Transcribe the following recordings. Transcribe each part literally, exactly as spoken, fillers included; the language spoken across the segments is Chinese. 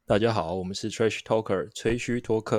大家好，我们是 Trash Talker 吹嘘托客。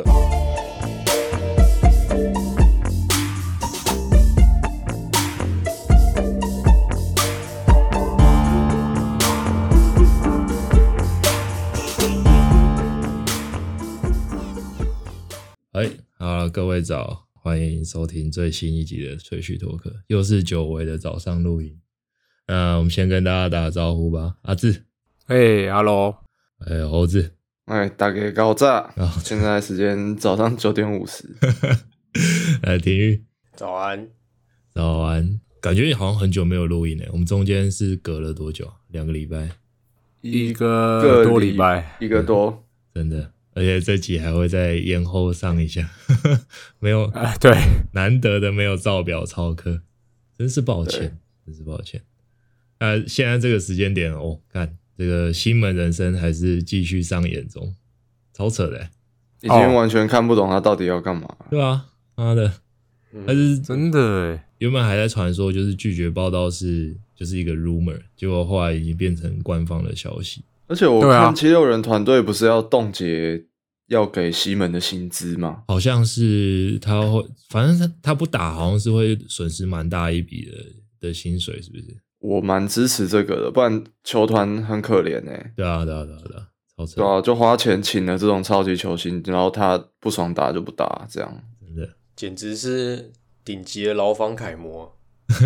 哎，好了，各位早，欢迎收听最新一集的吹嘘托客，又是久违的早上录音。那我们先跟大家打个招呼吧，阿志， 嘿 ，Hello， 哎，猴子， 哎，大家高炸！现在时间早上九点五十。 来，体育， 早安， 早安。感觉好像很久没有录音了，我们中间是隔了多久？两个礼拜， 一个多礼拜， 一个多， 真的。而且这集还会再延后上一下，没有、 呃，对， 难得的没有照表操课，真是抱歉，真是抱歉。那、呃、现在这个时间点哦，看这个新门人生还是继续上演中，超扯的， 已经完全看不懂他到底要干嘛。 对啊，妈的，但是真的耶， 原本还在传说就是拒绝报道是就是一个 rumor， 结果后来已经变成官方的消息。 而且我看七六人团队不是要冻结要给西门的薪资吗？ 好像是他会，反正他他不打，好像是会损失蛮大一笔的的薪水，是不是？ 我蛮支持这个的，不然球团很可怜哎、欸。 对啊，对啊，对啊，对啊，超扯。 对啊，就花钱请了这种超级球星，然后他不爽打就不打，这样真的简直是顶级的劳方楷模。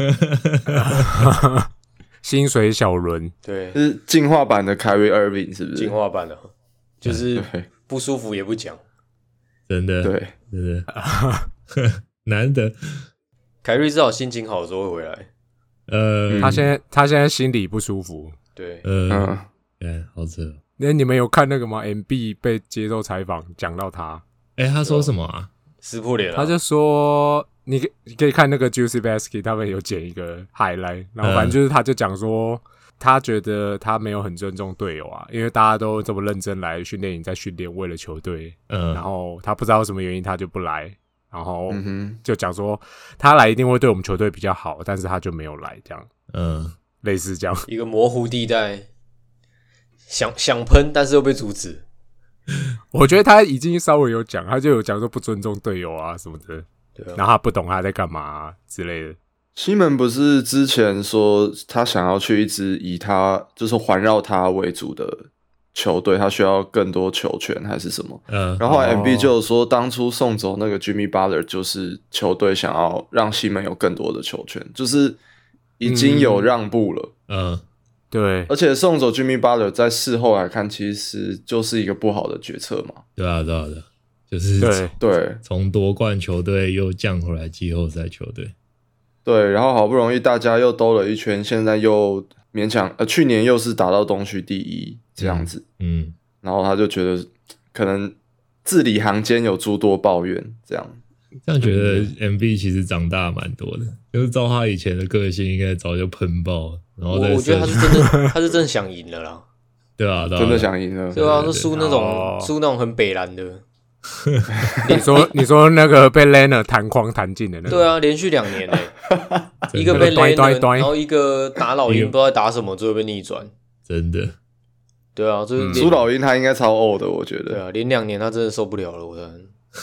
薪水小轮， 对， 是进化版的 Kyrie Irving 是不是？ 进化版的，就是不舒服也不讲， 真的， 对， 真的难得。 凯瑞至少心情好的时候会回来。 呃， 他现在他现在心里不舒服。 对， 呃， 嗯， 哎，好扯。 那你们有看那个吗 ？M B 被接受采访，讲到他， 哎，他说什么啊？ 撕破脸了。 他就说，你你可以看那个 Juicy Basket， 他们有剪一个 highlight， 然后反正就是他就讲说，他觉得他没有很尊重队友啊，因为大家都这么认真来训练营，在训练为了球队， 嗯， 然后他不知道什么原因他就不来。然后就讲说他来一定会对我们球队比较好，但是他就没有来，这样， 嗯， 类似这样一个模糊地带，想想喷，但是又被阻止。 我觉得他已经稍微有讲，他就有讲说不尊重队友啊什么的， 对啊， 然后他不懂他在干嘛、啊、之类的。 西门不是之前说他想要去一支以他就是环绕他为主的球队，他需要更多球权还是什么？ 嗯， 然后后来 M B 就有说，当初送走那个 Jimmy Butler， 就是球队想要让西门有更多的球权，就是已经有让步了。 嗯， 对， 而且送走 Jimmy Butler 在事后来看，其实就是一个不好的决策嘛。 对啊，对啊，对啊，就是对对从夺冠球队又降回来季后赛球队。 对，然后好不容易大家又兜了一圈，现在又勉强呃，去年又是打到东区第一这样子， 嗯，嗯， 然后他就觉得可能字里行间有诸多抱怨，这样。 这样觉得 M B 其实长大蛮多的，就是照他以前的个性，应该早就喷爆了。然后我我觉得他是真的，他是真的想赢了啦。 对啊，对啊， 真的想赢了。 对啊，都输那种哦输那种很北蓝的。 你说你说那个被 Leonard 弹框弹进的那个， 对啊，连续两年诶、一个被 Leonard， 然后一个打老鹰不知道在打什么，最后被逆转。 真的。 对啊，就是苏老鹰他应该超呕的，我觉得。 对啊，连两年他真的受不了了，我的。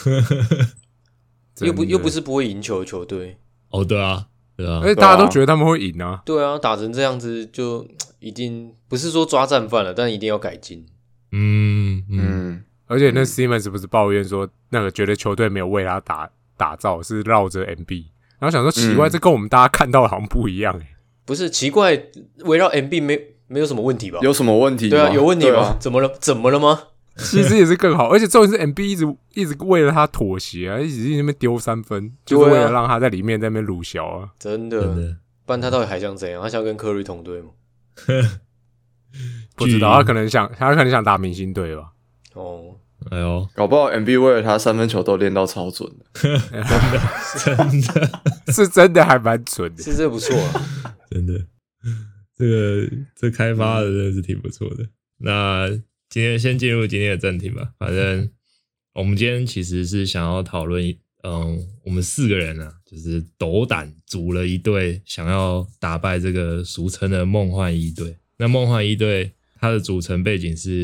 又不又不是不会赢球的球队。 哦，对啊，对啊， 而且大家都觉得他们会赢啊。 对啊，打成这样子就一定不是说抓战犯了，但一定要改进。 嗯嗯， 嗯， 而且那 Simmons 不是抱怨说，那个觉得球队没有为他打打造，是绕着 M B， 然后想说奇怪， 嗯、 这跟我们大家看到的好像不一样哎、欸。 不是奇怪，围绕 M B 没没有什么问题吧？ 有什么问题吗？ 对啊，有问题吗？ 啊、 怎么了？怎么了吗？ 其实也是更好，而且重点是 M B 一直一直为了他妥协啊，一直在那边丢三分，就是为了让他在里面在那边鲁小啊。 真的， 真的， 不然他到底还想怎样？他想跟科瑞同队吗？ 不知道，他可能想他可能想打明星队吧。 哦， 哎呦， 搞不好 M B 为了他三分球都练到超准的， 真的是真的还蛮准的， 是这不错啊， 真的，这个这开发的真的是挺不错的。那今天先进入今天的正题吧。反正我们今天其实是想要讨论，嗯，我们四个人啊，就是斗胆组了一队，想要打败这个俗称的梦幻一队。那梦幻一队它的组成背景是，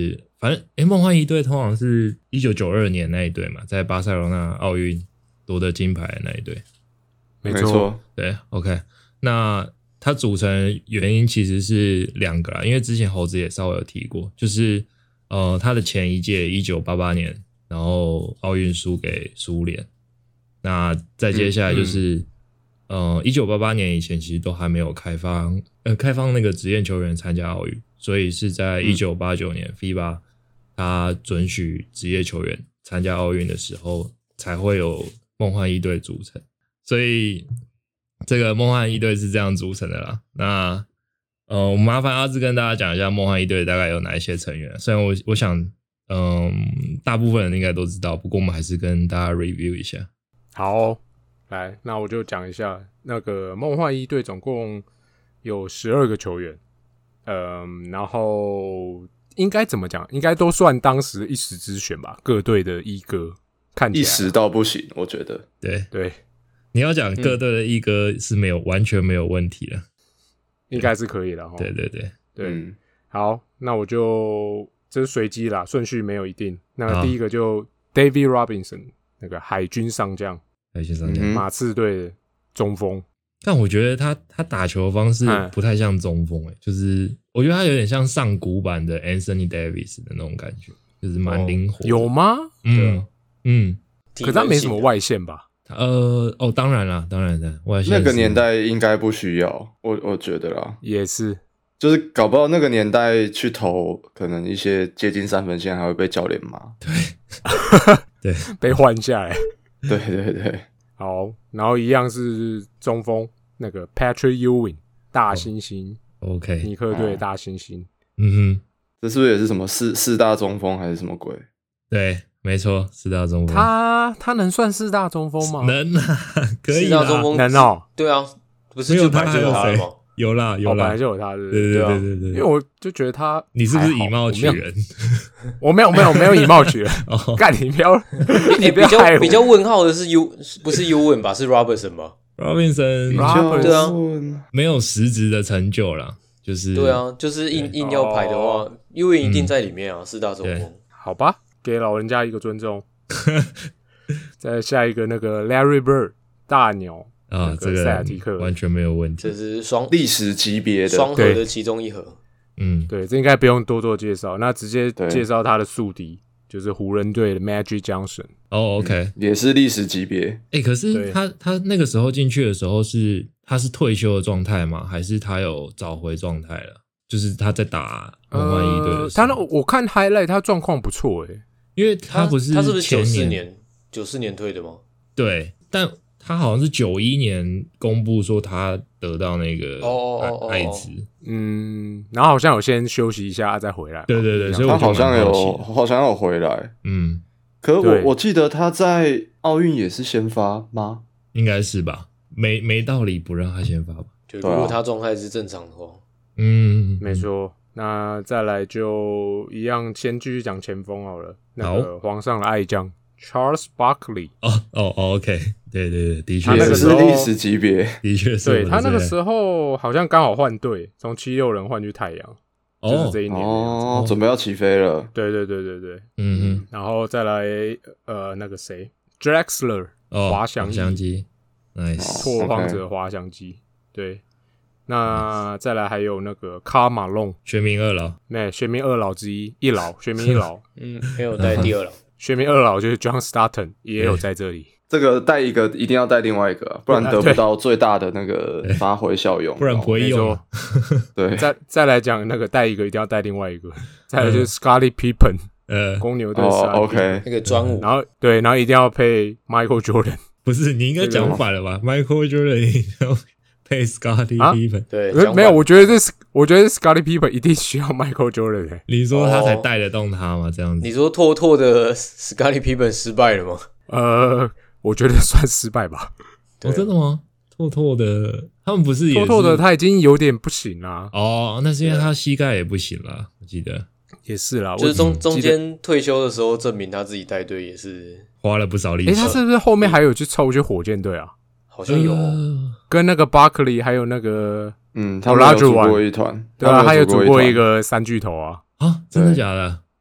反正诶，梦幻一队通常是一九九二年那一队嘛，在巴塞罗那奥运夺得金牌的那一队。 没错， 对 ，OK。那它组成原因其实是两个啦，因为之前猴子也稍微有提过，就是呃，他的前一届一九八八年，然后奥运输给苏联。那再接下来就是，嗯、呃，一九八八年以前其实都还没有开放，呃，开放那个职业球员参加奥运，所以是在一九八九年 F I B A 他准许职业球员参加奥运的时候，才会有梦幻一队组成。所以这个梦幻一队是这样组成的啦。那呃，我麻烦阿志跟大家讲一下梦幻一队大概有哪一些成员。虽然我我想，嗯，大部分人应该都知道，不过我们还是跟大家 review 一下。 好哦，来，那我就讲一下那个梦幻一队总共有十二个球员，嗯，然后应该怎么讲？应该都算当时一时之选吧，各队的一哥，看起来一时到不行，我觉得。 对对， 你要讲各队的一哥是没有、嗯、完全没有问题的， 应该是可以的齁。 对对对对、 嗯， 好，那我就这是随机啦，顺序没有一定。那第一个就 David Robinson， 那个海军上将。 海军上将， 马刺队的中锋， 但我觉得他他打球的方式不太像中锋、欸嗯、就是我觉得他有点像上古版的 Anthony Davis 的那种感觉，就是蛮灵活、哦。 有吗？ 嗯嗯， 可是他没什么外线吧？ 呃哦，当然啦，当然的，外线那个年代应该不需要，我我觉得啦， 也是， 就是搞不好那个年代去投，可能一些接近三分线还会被教练骂， 对对， 被换下来。 对对对， 好，然后一样是中锋那个 Patrick Ewing 大猩猩、 哦、，OK， 尼克队大猩猩， 嗯哼， 这是不是也是什么四四大中锋还是什么鬼？ 对，没错，四大中锋， 他他能算四大中锋吗？ 能啊，可以啦， 四大中锋能哦， 对啊，不是就本来就有他了吗？ 有啦有啦， 哦、本来就有他，对对对对对 对, 对， 因为我就觉得他， 你是不是以貌取人？ 我没有没有没有以貌取人，干、哦、你不要， 你不要、欸、比较比较问号的是 U 不是 Ewing 吧？是 Robertson 吧 ？Robertson， Robertson 对啊， 没有实质的成就啦，就是对啊，就是硬硬要排的话 ，Ewing 一定在里面啊，四、嗯、大中锋。 好吧，给老人家一个尊重。再下一个那个 Larry Bird 大鸟。 啊、 那这个塞尔提克完全没有问题， 这是双历史级别的双核的其中一核。 嗯， 对，这应该不用多做介绍，那直接介绍他的宿敌，就是湖人队的 Magic Johnson。 哦 ，OK，、 嗯、也是历史级别。 哎、欸，可是他他那个时候进去的时候是他是退休的状态吗？还是他有找回状态了？就是他在打梦幻一队的时候、呃、 他那我看 highlight 他状况不错诶， 因为他不是他是不是九四年年九四年退的吗？ 对，但。他好像是九一年公布说他得到那个艾滋， 嗯，然后好像有先休息一下再回来。 对对对，所以我他好像有好像有回来， 嗯， 可我我记得他在奥运也是先发吗？ 应该是吧，没没道理不让他先发吧？ 就如果他状态是正常的话， 嗯， 没错。那再来就一样，先继续讲前锋好了。那个皇上的爱将 Charles Barkley。 哦哦哦 ，OK。对对对，的确他那个是历史级别， 的确是。 对他那个时候好像刚好换队，从七六人换去太阳，哦、就是这一年哦，准备要起飞了。 对对对对对， 嗯哼。 然后再来呃那个谁 ，Drexler 滑翔机 ，nice， 拓荒者滑翔机，对。那再来还有那个卡马龙， 全民二老， 没全民二老之一，一老全民一老， 嗯，没有带第二老， 全民二老就是 John Stockton 也有在这里。 这个带一个一定要带另外一个、啊，不然得不到最大的那个发挥效用， 不然不会用。 对， 再再来讲那个带一个一定要带另外一个，再来就是 Scottie Pippen， 呃，公牛队 ，OK， 那个专武， 然后对，然后一定要配 Michael Jordan， 不是你应该讲反了吧 ？Michael Jordan 一定要配 Scottie Pippen，、啊、 对， 没有，我觉得这是我觉得 Scottie Pippen 一定需要 Michael Jordan、欸。 你说他才带得动他吗？这样子？ 你说拓拓的 Scottie Pippen 失败了吗？ 呃。我觉得算失败吧。 哦，真的吗？拓拓的他们不是也是拓拓的他已经有点不行啦。 哦，那是因为他膝盖也不行啦，我记得也是啦。 就是中中间退休的时候，证明他自己带队也是花了不少力气。 诶、欸，他是不是后面还有去凑去火箭队啊？ 好像有、 呃， 跟那个 Barkley 还有那个嗯，他们有组过一团， 对啊，他有组过一个三巨头啊。 啊，真的假的？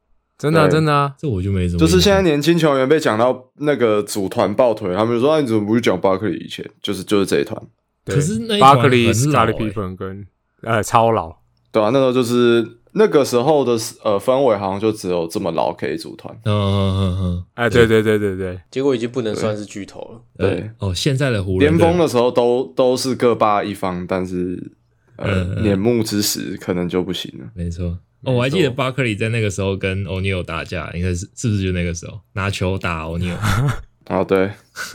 真的、啊、真的啊， 这我就没什么。 就是现在年轻球员被讲到那个组团抱腿，他们就说：“啊，你怎么不去讲巴克利以前？就是就是这一团。” 可是那一巴克利、斯卡利团很老欸皮芬跟呃超老， 对啊，那时候就是那个时候的呃氛围，好像就只有这么老可以组团。 嗯嗯嗯嗯， 哎，对对对对对， 结果已经不能算是巨头了。 对哦，现在的湖人巅峰的时候都都是各霸一方，但是呃嗯嗯年暮之时可能就不行了。 没错。哦，我还记得巴克利在那个时候跟欧尼尔打架，应该是是不是就那个时候拿球打欧尼尔？ 啊，对，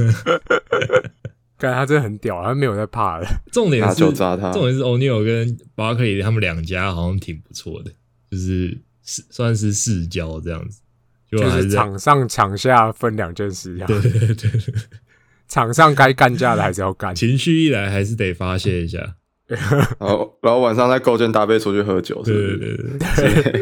看他真的很屌，他没有在怕的。 拿重点是球砸他重点是欧尼尔跟巴克利他们两家好像挺不错的，就是是算是世交这样子，就就是还在场上场下分两件事，这样。 对对对对对， 场上该干架的还是要干。 情绪一来还是得发泄一下。 然后然后晚上再勾肩搭背出去喝酒，是不对是？ 对对对， 对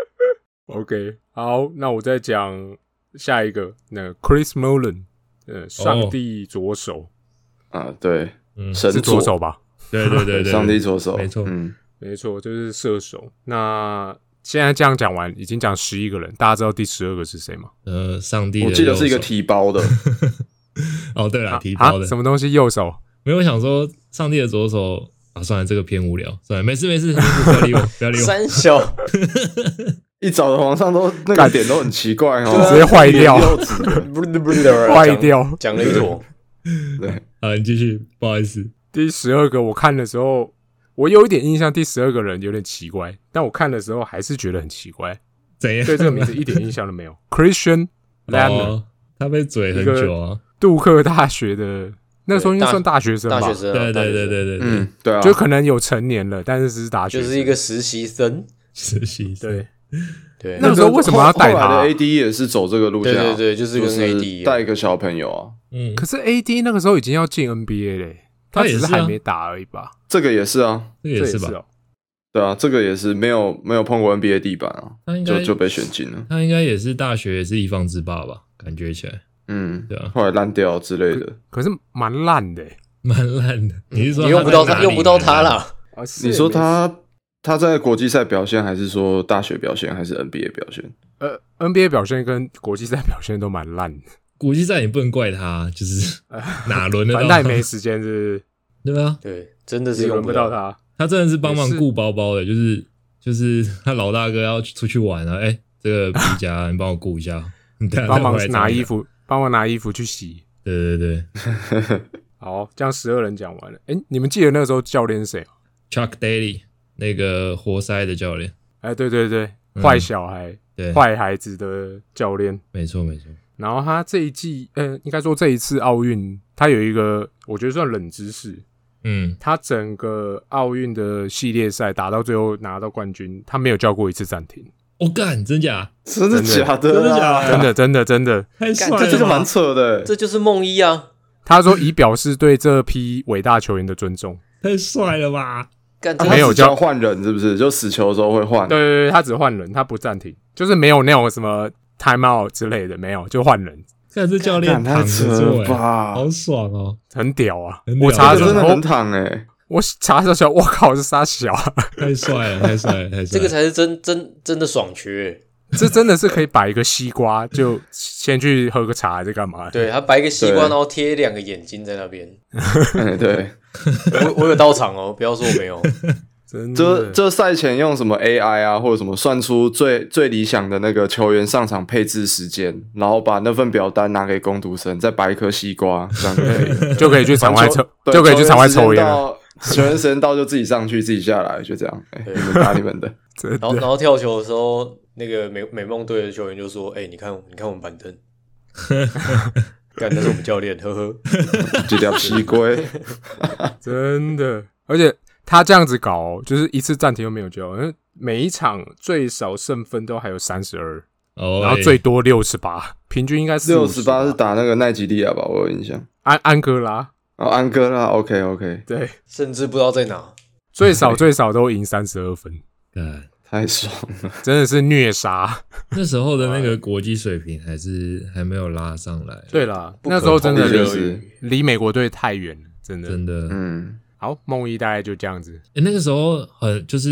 ，OK， 好，那我再讲下一个，那个 Chris Mullin， 呃，上帝左手， 啊，对， 嗯， 神是左手吧？ 对对对对， 上帝左手， 没错。 嗯， 没错，就是射手。那现在这样讲完，已经讲十一个人，大家知道第十二个是谁吗？ 呃，上帝的我记得是一个右手提包的， 哦，对了， 啊提包的啊什么东西？右手？ 没有我想说上帝的左手啊，算了，这个偏无聊，算了，没事没事，没事不要理我，不要理我。 三小一早的皇上都那个点都很奇怪哦， 直接坏掉莲柚子不是不是坏掉。 讲了一坨。 对， 啊，你继续，不好意思。 第十二个我看的时候，我有一点印象，第十二个人有点奇怪，但我看的时候还是觉得很奇怪， 怎样？ 对这个名字一点印象都没有。Christian Laettner，、 哦、他被嘴很久啊， 杜克大学的那时候应该算大学生吧？ 大学生、啊， 对对对对对对， 嗯，对啊， 就可能有成年了，但是是大学生， 就是一个实习生。 实习生对。 对， 那个时候为什么要带他、 后来的 A D 也是走这个路线、啊， 对对对，就是跟 A D 就是带一个小朋友啊。 嗯， 可是 A D 那个时候已经要进 N B A 嘞，他只是还没打而已吧？ 这个也是啊， 这个也是吧？ 是哦、 对啊，这个也是没有没有碰过 N B A 地板啊， 他应该就就被选进了。 他应该也是大学也是一方之霸吧？感觉起来， 嗯， 对啊， 后来烂掉之类的。 可是蛮烂的， 蛮烂的。你是说你用不到他， 他用不到他啦？ 啊、 你说他他在国际赛表现，还是说大学表现，还是 N B A 表现？ 呃 ，N B A 表现跟国际赛表现都蛮烂的。 国际赛也不能怪他，就是哪轮得到他？ 反正他也没时间，是不是？对啊， 对，真的是也用到轮不到。他。 他真的是帮忙顾包包的，就是就是他老大哥要出去玩啊，哎、欸，这个皮夹你帮我顾一下，你带帮忙拿衣服，帮忙拿衣服去洗。 对对对， 好，这样十二人讲完了。哎、欸，你们记得那个时候教练是谁 ？Chuck Daly， 那个活塞的教练。 哎、欸，对对对，坏、嗯、小孩， 对， 坏孩子的教练， 没错没错。 然后他这一季，呃，应该说这一次奥运，他有一个我觉得算冷知识。 嗯， 他整个奥运的系列赛打到最后拿到冠军，他没有叫过一次暂停。 我、哦、干，真假？ 真的假的？ 真的假的？ 真的真的真的， 太帅了！ 这就是蛮扯的， 这就是梦一啊。 他说以表示对这批伟大球员的尊重。 太帅了吧！ 干， 他没有叫换人，是不是？就死球的时候会换？ 对对对，他只换人，他不暂停，就是没有那种什么 time out 之类的，没有，就换人。 看这教练躺着做，哎，好爽哦， 很屌啊！ 很屌我查的时候真的很躺哎、欸， 我查的时候，我靠，是啥小、啊？ 太帅了，太帅了，太帅了！ 这个才是真真真的爽缺， 这真的是可以摆一个西瓜，就先去喝个茶，还是干嘛？ 对他摆一个西瓜，然后贴两个眼睛在那边。 嗯，对， 我我有到场哦，不要说我没有。 这这赛前用什么 A I 啊，或者什么算出最最理想的那个球员上场配置时间，然后把那份表单拿给工读生，再摆一颗西瓜，这样就可以就可以去场外抽，就可以去场外抽烟了。 球员时间到就自己上去，自己下来，就这样。哎、欸，你们打你们的。 然后然后跳球的时候，那个美美梦队的球员就说：“哎、欸，你看你看我们板凳，干那是我们教练，呵呵， 这条西龟， 真的，而且。”他这样子搞、哦，就是一次暂停都没有叫，因为每一场最少胜分都还有三十二，然后最多六十八，平均应该是六十八是打那个奈吉利亚吧？我有印象。 安安哥拉哦，安哥拉 ，OK OK， 对， 甚至不知道在哪， 最少最少都赢三十二分， 太爽了， 真的是虐杀。 那时候的那个国际水平还是还没有拉上来。 对啦，那时候真的就是离美国队太远了，真的真的， 嗯。好，梦一大概就这样子。 欸、那个时候很就是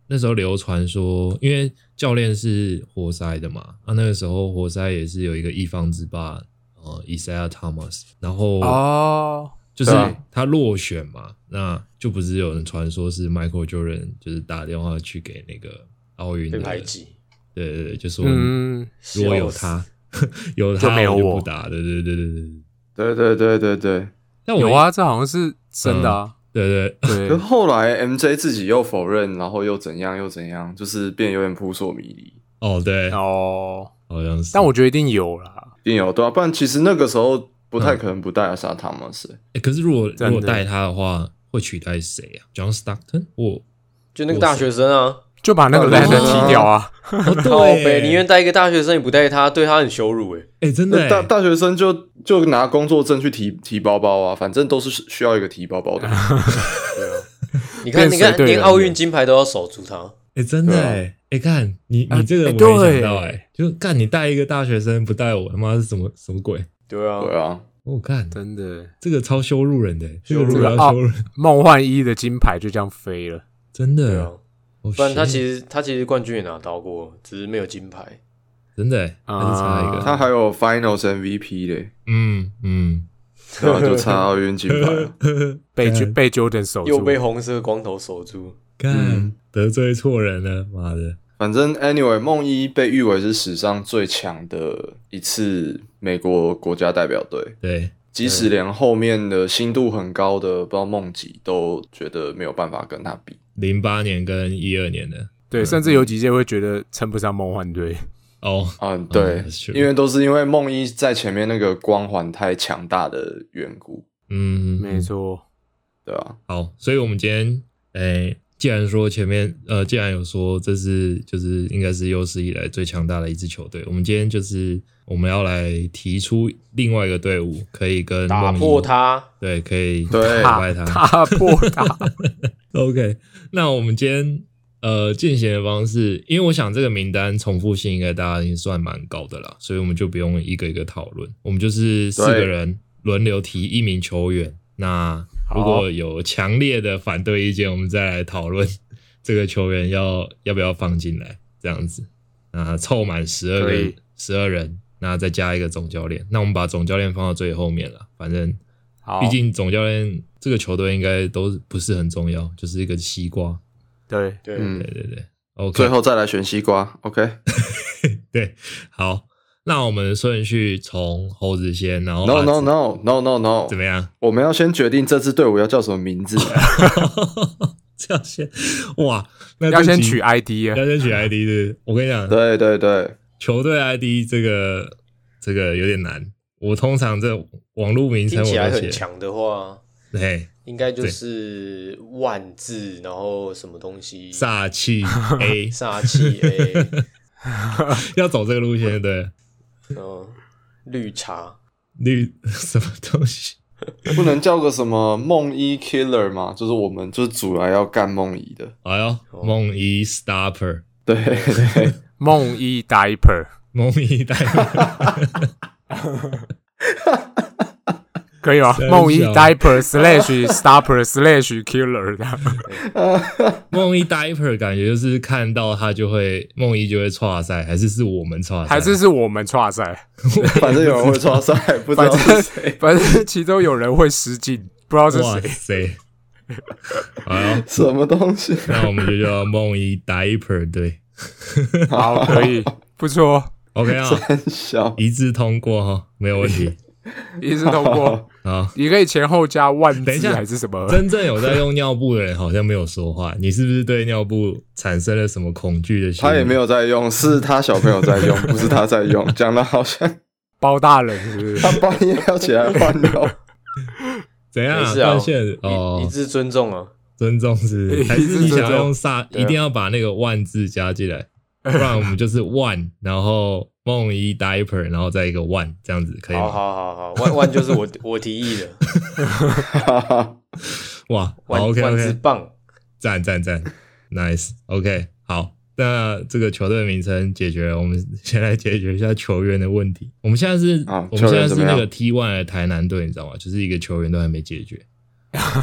那时候流传说，因为教练是活塞的嘛，啊，那个时候活塞也是有一个一方之霸，呃 Isaiah Thomas， 然后哦， 就是他落选嘛，那就不是有人传说是 Michael Jordan 就是打电话去给那个奥运的被排挤， 对对对，就说嗯， 如果有他，有他就没有我我就不打，对对对对对。 对对对对对。 但我有啊，这好像是真的啊。 嗯、对对对可后来 M J 自己又否认，然后又怎样又怎样，就是变有点扑朔迷离。 哦，对， 哦， 好像是。 但我觉得一定有啦， 一定有对啊，不然其实那个时候不太可能不带阿萨汤马斯。 欸，可是如果真的如果带他的话，会取代谁啊 ？John Stockton 或就那个大学生啊， 就把那个哦 Landon 踢掉啊。 哦靠北， 对， 宁愿带一个大学生，也不带他，对他很羞辱哎。 哎、欸，真的大大学生就就拿工作证去提提包包啊，反正都是需要一个提包包的。 对啊，你看，你看，连奥运金牌都要守住他。 哎、欸，真的哎，哎、欸，看你你这个我没想到哎、欸，就干你带一个大学生不带我，他妈是什么什么鬼？ 对啊， 对啊， 我、哦、看真的， 这个超羞辱人的，这个这个如果要羞辱人， 梦幻一的金牌就这样飞了， 真的。 对啊， 哦、 不然他其实他其实冠军也拿到过，只是没有金牌。 真的欸，还是差一个。 他还有 Finals M V P 嘞， 嗯嗯， 对啊，就差奥运金牌了， 被被 Jordan 守住， 又被红色光头守住， 干、 嗯、 得罪错人了，妈的！ 反正 anyway， 梦一被誉为是史上最强的一次美国国家代表队。 对， 即使连后面的心度很高的，不知道梦几都觉得没有办法跟他比。 零八年跟一二年的， 对，甚至有几届会觉得称不上梦幻队。 哦， 嗯，对， 嗯、 因为都是因为梦一在前面那个光环太强大的缘故。 嗯， 没错， 对啊。 好，所以我们今天，诶、欸，既然说前面，呃，既然有说这是就是应该是有史以来最强大的一支球队，我们今天就是我们要来提出另外一个队伍可以跟打破他， 对，可以对打败他， 打破他。 OK， 那我们今天。呃，进行的方式，因为我想这个名单重复性应该大家已经算蛮高的啦，所以我们就不用一个一个讨论，我们就是四个人轮流提一名球员。那如果有强烈的反对意见，我们再来讨论这个球员要要不要放进来，这样子。那凑满十二个十二人，那再加一个总教练。那我们把总教练放到最后面了，反正毕竟总教练这个球队应该都不是很重要，就是一个西瓜。 对对、 嗯、对对对 ，OK， 最后再来选西瓜 ，OK， 对，好，那我们顺序从猴子先，然后 No No No No No No， 怎么样？ 我们要先决定这支队伍要叫什么名字。 这样先哇，那要先取 I D 啊， 要先取 I D 的。我跟你讲， 对对对， 球队 I D 这个这个有点难。我通常这网络名称我都写， 听起来很强的话， 对。 应该就是万字，然后什么东西？ 煞气 A， 煞气 A， 要走这个路线，对。 嗯，绿茶， 绿什么东西？ 不能叫个什么梦一 Killer 吗？就是我们就是主来要干梦一的。 哎呦，梦一 Stopper， 对对， 梦一 Diaper， 梦一 Diaper。 可以吗？梦一 diaper slash stopper slash killer 的。 梦一 diaper 感觉就是看到他就会梦一就会挫赛，还是是我们挫赛， 还是是我们挫赛？ 反正有人会挫赛，不知道是谁。 反正其中有人会失禁，不知道是谁。 谁？好， 什么东西？ 那我们就叫梦一 diaper 对。 好，可以，不错。 OK 啊， 小一致通过哈，没有问题。 一致通过。 好， 你可以前后加万字， 等一下还是什么？ 真正有在用尿布的人好像没有说话，你是不是对尿布产生了什么恐惧的心理？ 他也没有在用，是他小朋友在用，不是他在用。讲的好像包大人是不是？ 他半夜要起来换尿。 怎样？ 没事啊， 哦， 一致尊重啊， 尊重是，还是你想用煞？一定要把那个万字加进来，不然我们就是万，然后梦一 diaper， 然后再一个万，这样子可以吗？ 好好好好，万万就是我我提议的。 哇， 万 OK 万 OK， 字棒， 赞赞赞 ，nice OK， 好，那这个球队名称解决了，我们先来解决一下球员的问题。我们现在是， 啊、 我们现在是那个 T 一 的台南队，你知道吗？就是一个球员都还没解决。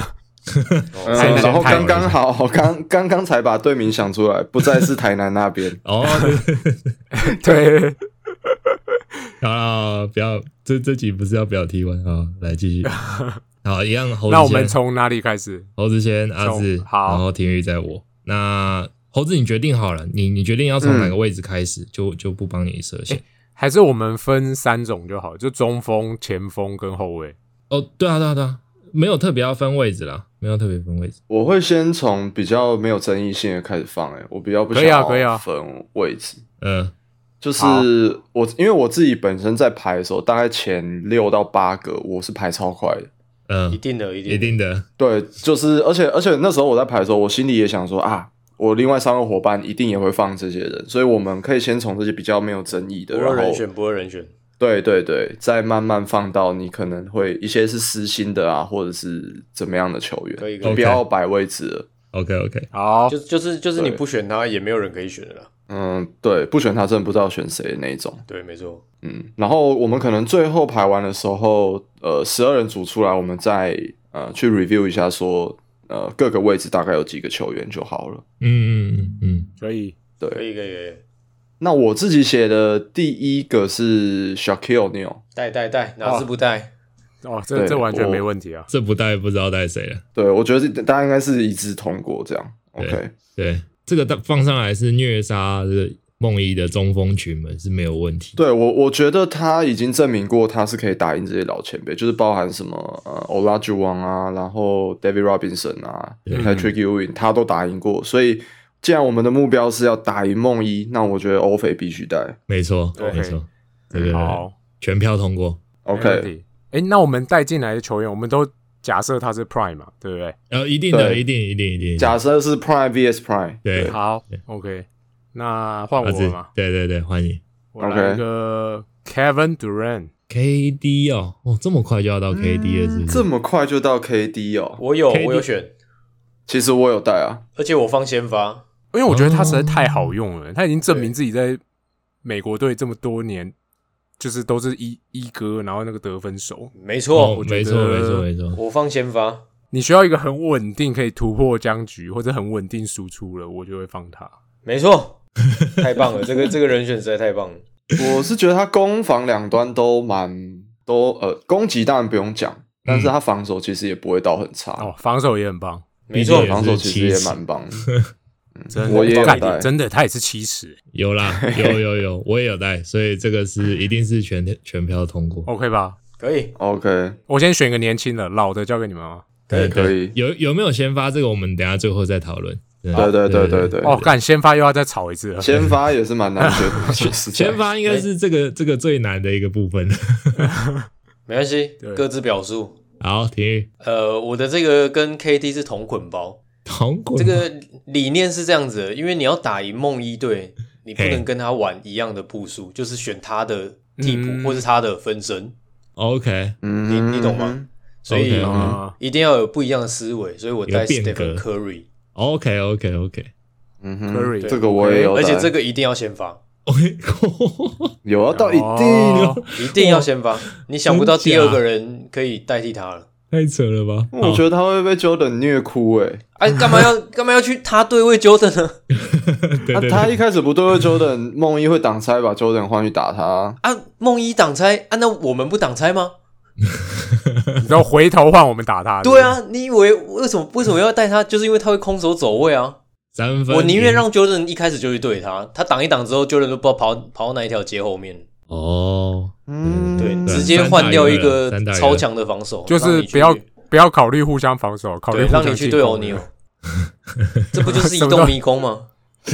嗯， 台南然后台南刚刚好，刚刚刚才把队名想出来，不再是台南那边。 哦，对， 对， 好啦，不要，这这集不是要表题完啊，来继续。好，一样猴子先。 那我们从哪里开始？ 猴子先，阿志， 好， 然后廷玉再我。那猴子，你决定好了，你你决定要从哪个位置开始，嗯、就就不帮你设限。 还是我们分三种就好，就中锋、前锋跟后卫。 哦，对啊，对啊，对啊，没有特别要分位置啦，没有特别分位置。 我会先从比较没有争议性的开始放、欸，我比较不想要分位置。 嗯、啊， 就是我，因为我自己本身在排的时候，大概前六到八个，我是排超快的。 嗯， 一定的，一定的， 一定的。 对，就是而且而且那时候我在排的时候，我心里也想说啊，我另外三个伙伴一定也会放这些人，所以我们可以先从这些比较没有争议的， 不二人选，不二人选。 对对对，再慢慢放到你可能会一些是私心的啊，或者是怎么样的球员， 可以，可以不要摆位置了。 OK OK， 好， 就就是就是你不选他，也没有人可以选的啦。 嗯，对，不选他真的不知道选谁的那一种。 对，没错。 嗯，然后我们可能最后排完的时候，呃，十二人组出来，我们再呃去 review 一下说，呃，各个位置大概有几个球员就好了。 嗯嗯嗯嗯， 可以， 对， 可以，可以，可以。 那我自己写的第一个是 Shaquille O'Neal， 带带带，哪支不带？ 哦，这这完全没问题啊。 这不带不知道带谁了。 对，我觉得大家应该是一致通过这样。OK， 对，这个放上来是虐杀这个梦一的中锋群们是没有问题。 对我，我觉得他已经证明过他是可以打赢这些老前辈，就是包含什么呃 Olajuwon 啊，然后 David Robinson 啊 ，Patrick Ewing，他都打赢过。所以，既然我们的目标是要打赢梦一，那我觉得欧菲必须带。 没错，没错，这个好， 全票通过。 OK， 哎，那我们带进来的球员，我们都假设他是 Prime 嘛，对不对？ 呃，一定的，一定，一定，一定。 假设是 Prime vs Prime， 对， 好 ，OK。那换我了嘛？ 对对对，换你。 我来一个 Kevin Durant。 K D 哦，哦，这么快就要到 K D 了，是不是？ 这么快就到 K D 哦？ 我有， K D 我有选。 其实我有带啊， 而且我放先发， 因为我觉得他实在太好用了，他已经证明自己在美国队这么多年，就是都是一一哥，然后那个得分手。 没错， 哦、没错，没错，没错。 我放先发。 你需要一个很稳定可以突破僵局，或者很稳定输出了，我就会放他。 没错，太棒了，这个这个人选实在太棒了。 我是觉得他攻防两端都蛮都呃，攻击当然不用讲，但是他防守其实也不会到很差。 哦，防守也很棒， 没错， 防守其实也蛮棒的。 真的， 我也有带， 真的，他也是七十， 有啦，有有有，我也有带，所以这个是一定是全全票通过 ，OK 吧？ 可以 ，OK。 我先选个年轻的，老的交给你们吗？ 可以可以。 有有没有先发这个，我们等一下最后再讨论。 对对对对对。 哦，干先发又要再吵一次了。 先发也是蛮难选的， 先发应该是这个这个最难的一个部分。 没关系，各自表述。 好，体育。 呃，我的这个跟 K D 是同捆包。 同捆。 这个理念是这样子的，因为你要打赢梦一队，你不能跟他玩一样的步数，就是选他的替补、嗯、或是他的分身。 OK， 嗯， 你你懂吗？所以、 okay, 嗯、一定要有不一样的思维，所以我带 Stephen Curry。OK OK OK， 嗯哼 ，Curry 这个我也有， 而且这个一定要先发。 OK， 有要到一定、 哦、 一定要先发，你想不到第二个人可以代替他了， 太扯了吧？ 我觉得他会被 Jordan 虐哭哎、欸！ 哎，干嘛要干嘛要去他对位 Jordan 呢？ 对对对他他一开始不对位 Jordan， 梦一会挡拆把 Jordan 换去打他啊，梦一挡拆啊，那我们不挡拆吗？ 然后回头换我们打他。 对啊，你以为为什么为什么要带他？就是因为他会空手走位啊。 三分， 我宁愿让 Jordan 一开始就去对他，他挡一挡之后 ，Jordan 都不知道跑跑到哪一条街后面。 哦， 嗯， 对，直接换掉一个超强的防守， 就是不要不要考虑互相防守，考虑互相让你去对欧尼尔，这不就是移动迷宫吗？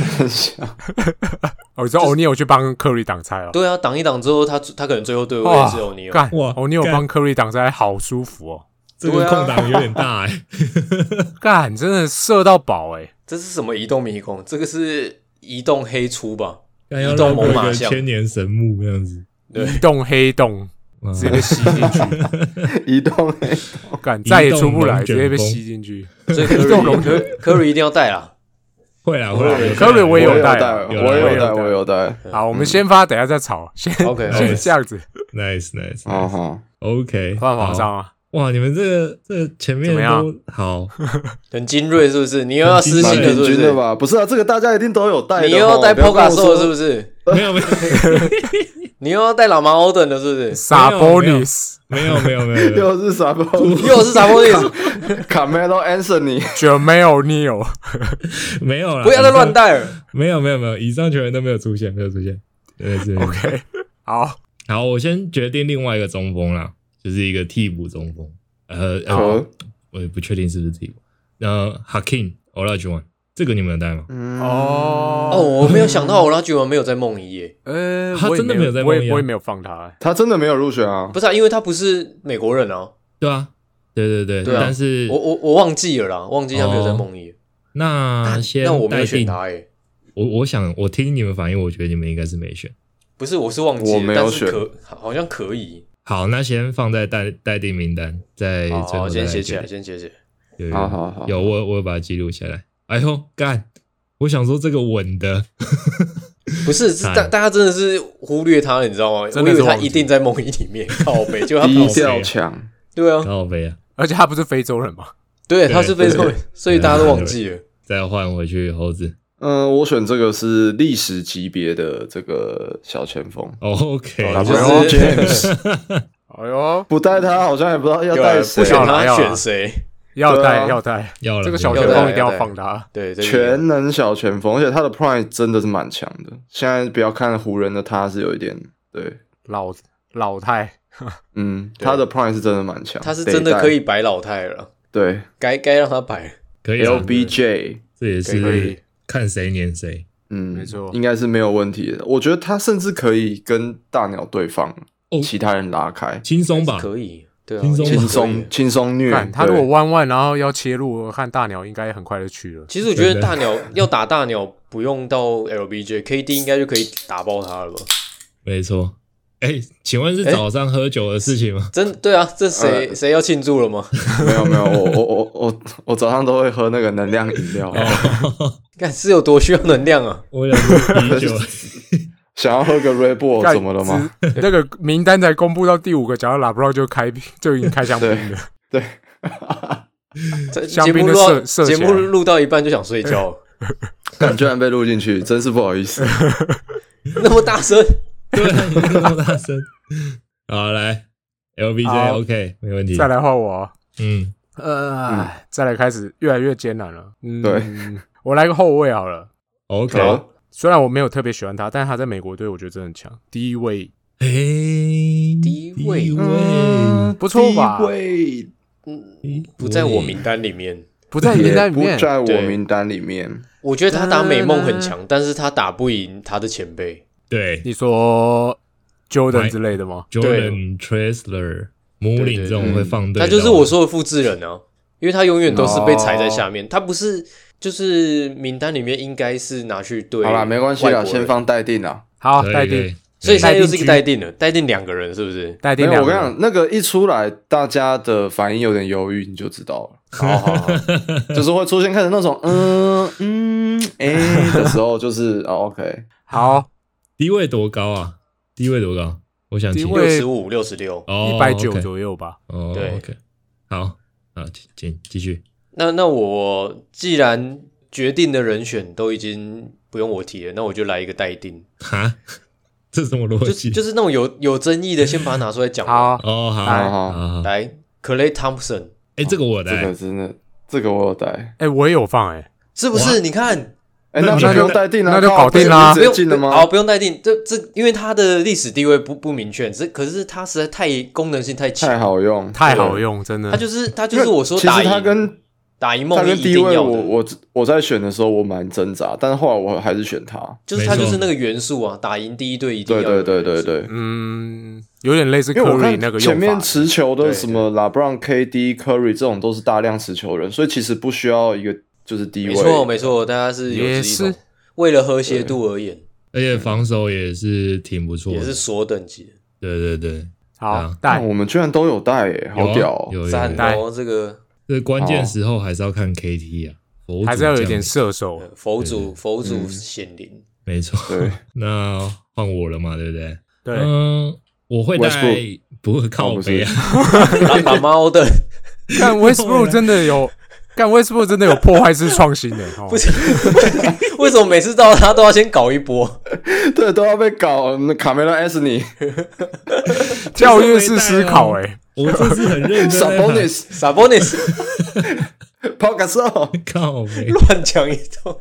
哦，你说欧尼尔去帮科瑞挡拆哦？ 对啊，挡一挡之后，他他可能最后对位是欧尼尔。 干哇，欧尼尔帮科瑞挡拆，好舒服哦。 这个空档有点大哎、欸， 干真的射到饱哎、欸！ 这是什么移动迷宫？这个是移动黑出吧？ 移动猛犸象，千年神木这样子， 移动黑洞直接被吸进去， 移动黑洞，干再也出不来，直接被吸进去。 所以科瑞科瑞一定要带啦， 会啦会啦， 科瑞我也有带， 我也有带，我也有带。 好，我们先发，等一下再吵，先 OK， 先这样子 ，nice nice， 哦好 ，OK， 换皇上啊。 哇，你们这个这个前面都好， 很精锐是不是？你又要私信了是不是？ 的吧？不是啊，这个大家一定都有带的。 你又要带 Pogaso 是不是？ 没有没有， 你又要带老马 Oden 了是不是 ？Sabonis 没有没有没有， 又是 Sabonis， 又是 Sabonis，Carmelo Anthony，Jermaine O'Neal， 没有啦， 不要再乱带了。 没有没有没有，以上球员都没有出现，没有出现。对对 ，OK， 好， 好，我先决定另外一个中锋啦。就是一个替补中锋，呃呃，我也不确定是不是替补。呃 ，Hakeem Olajuwon 这个你们有带吗？ 嗯、哦哦，我没有想到Olajuwon没有在梦遗耶。 呃， 他真的没有在梦遗、啊， 我也没有放他、欸， 他真的没有入选啊？ 不是啊，因为他不是美国人啊。 对啊，对对对， 对啊、 但是我我我忘记了啦，忘记他没有在梦遗、哦。 那先那我没有选他耶。 我我想我听你们反应，我觉得你们应该是没选。 不是，我是忘记了， 我没有选， 但是可好像可以。 好，那先放在待待定名单，在最后先写起来，先写起来。 有好好好， 有我我有把它记录下来。哎呦，干！我想说这个稳的， 不是大大家真的是忽略他了，你知道吗？我以为他一定在梦遗里面靠北，就他低调强， 对啊， 靠北啊！ 而且他不是非洲人嘛？ 对，他是非洲人，所以大家都忘记了。 再换回去猴子。 嗯、呃，我选这个是历史级别的这个小前锋。 OK， 就是 James。 哎呦， 不带他好像也不知道要带谁， 不选他选谁？ 要带要带， 要了。 这个小前锋一定要放他。 对， 全能小前锋，而且他的 Prime 真的是蛮强的。现在不要看湖人的他是有一点对老老太， 嗯，他的 Prime 是真的蛮强， 他是真的可以摆老太了。 对， 该该让他摆。 可以 L B J， 这也是看谁黏谁。 嗯， 没错， 应该是没有问题的。我觉得他甚至可以跟大鸟对放，哦、其他人拉开， 轻松吧？ 可以，对、啊， 轻松轻松轻松虐。 他如果弯弯，然后要切入，我看大鸟应该很快就去了。 其实我觉得大鸟要打大鸟，不用到 L B J，K D 应该就可以打爆他了吧？ 没错。哎、欸，请问是早上喝酒的事情吗？ 真对啊，这谁谁、呃、要庆祝了吗？ 没有没有，我我我我我早上都会喝那个能量饮料。 看是有多需要能量啊！ 我想喝啤酒， 想要喝个 Red Bull 怎么了吗？ 那个名单才公布到第五个，假如拉布拉就开就已经开香槟了。 对， 对香槟的射射节目录到一半就想睡觉， 但居然被录进去，真是不好意思。 那么大声。 对，那么大声。好，来 L B J OK， 没问题。 再来换我。 嗯， 呃、嗯，再来开始越来越艰难了。嗯， 对， 我来个后卫好了。 OK， 虽然我没有特别喜欢他，但是他在美国队我觉得真的很强。第一位， 哎、 欸，第一位， 嗯，不错吧？ 第一位， 嗯，不在我名单里面， 不在名单里面， 不在我名单里面。 我觉得他打美梦很强，但是他打不赢他的前辈。 对， 你说 Jordan 之类的吗 ？Jordan、Trailsler、Mullin 这种会放对， 他就是我说的复制人啊，因为他永远都是被踩在下面，哦、他不是就是名单里面应该是拿去对。 好啦，没关系啦，先放待定啦。 好，待定。 所以现在又是一个待定了，待定两个人是不是？ 待定两个人。 我跟你讲，那个一出来，大家的反应有点犹豫，你就知道了。 好好好， 就是会出现开始那种嗯嗯哎、欸、的时候，就是哦 OK， 好。 低位多高啊？低位多高？我想六十五、六十六， 一百九左右吧。 哦， 对 ，OK， 好，好，请继续。 那那我既然决定的人选都已经不用我提了，那我就来一个待定。 哈，这是什么逻辑？ 就就是那种有有争议的，先把它拿出来讲。 好， 哦，好， 来， 好，好， 来 ，Klay Thompson， 哎，这个我带， 这个真的，这个我有带， 哎，我也有放，哎， 是不是？你看。 哎、欸，那就不用待定了， 那就搞定啦， 不用进了吗？ 好，不用待定。这这，因为他的历史地位不不明确，这可是他实在太功能性太强， 太好用， 太好用，真的。 他就是他就是我说打赢， 其实他跟打赢梦他跟一定要的。 我我我在选的时候我蛮挣扎，但是后来我还是选他， 就是他就是那个元素啊，打赢第一队一定要对对对对对， 嗯，有点类似 Curry 那个前面持球的什么 LeBron、K D、Curry 这种都是大量持球人，所以其实不需要一个就是低位。 没错没错，大家是有也是。 为了和谐度而言， 而且防守也是挺不错的， 也是所等级的。 对对对， 好带、啊， 我们居然都有带耶，好屌、哦！ 有赞哦，这个这关键时候还是要看 K T 啊，佛还是要有一点射手， 佛祖佛祖显灵， 没错。 对， 那换我了嘛，对不对？ 对， 嗯， 我会带不会靠背啊， 打打猫的。 干 Westbrook 真的有，干 Westbrook 真的有破坏式创新的，哦、 不是？为什么每次到他都要先搞一波？ 对，都要被搞。卡梅隆 S 尼教育式思考、欸，哎， 我这是很认真。 Sabonis Sabonis Paul Gasol 靠背乱讲一通。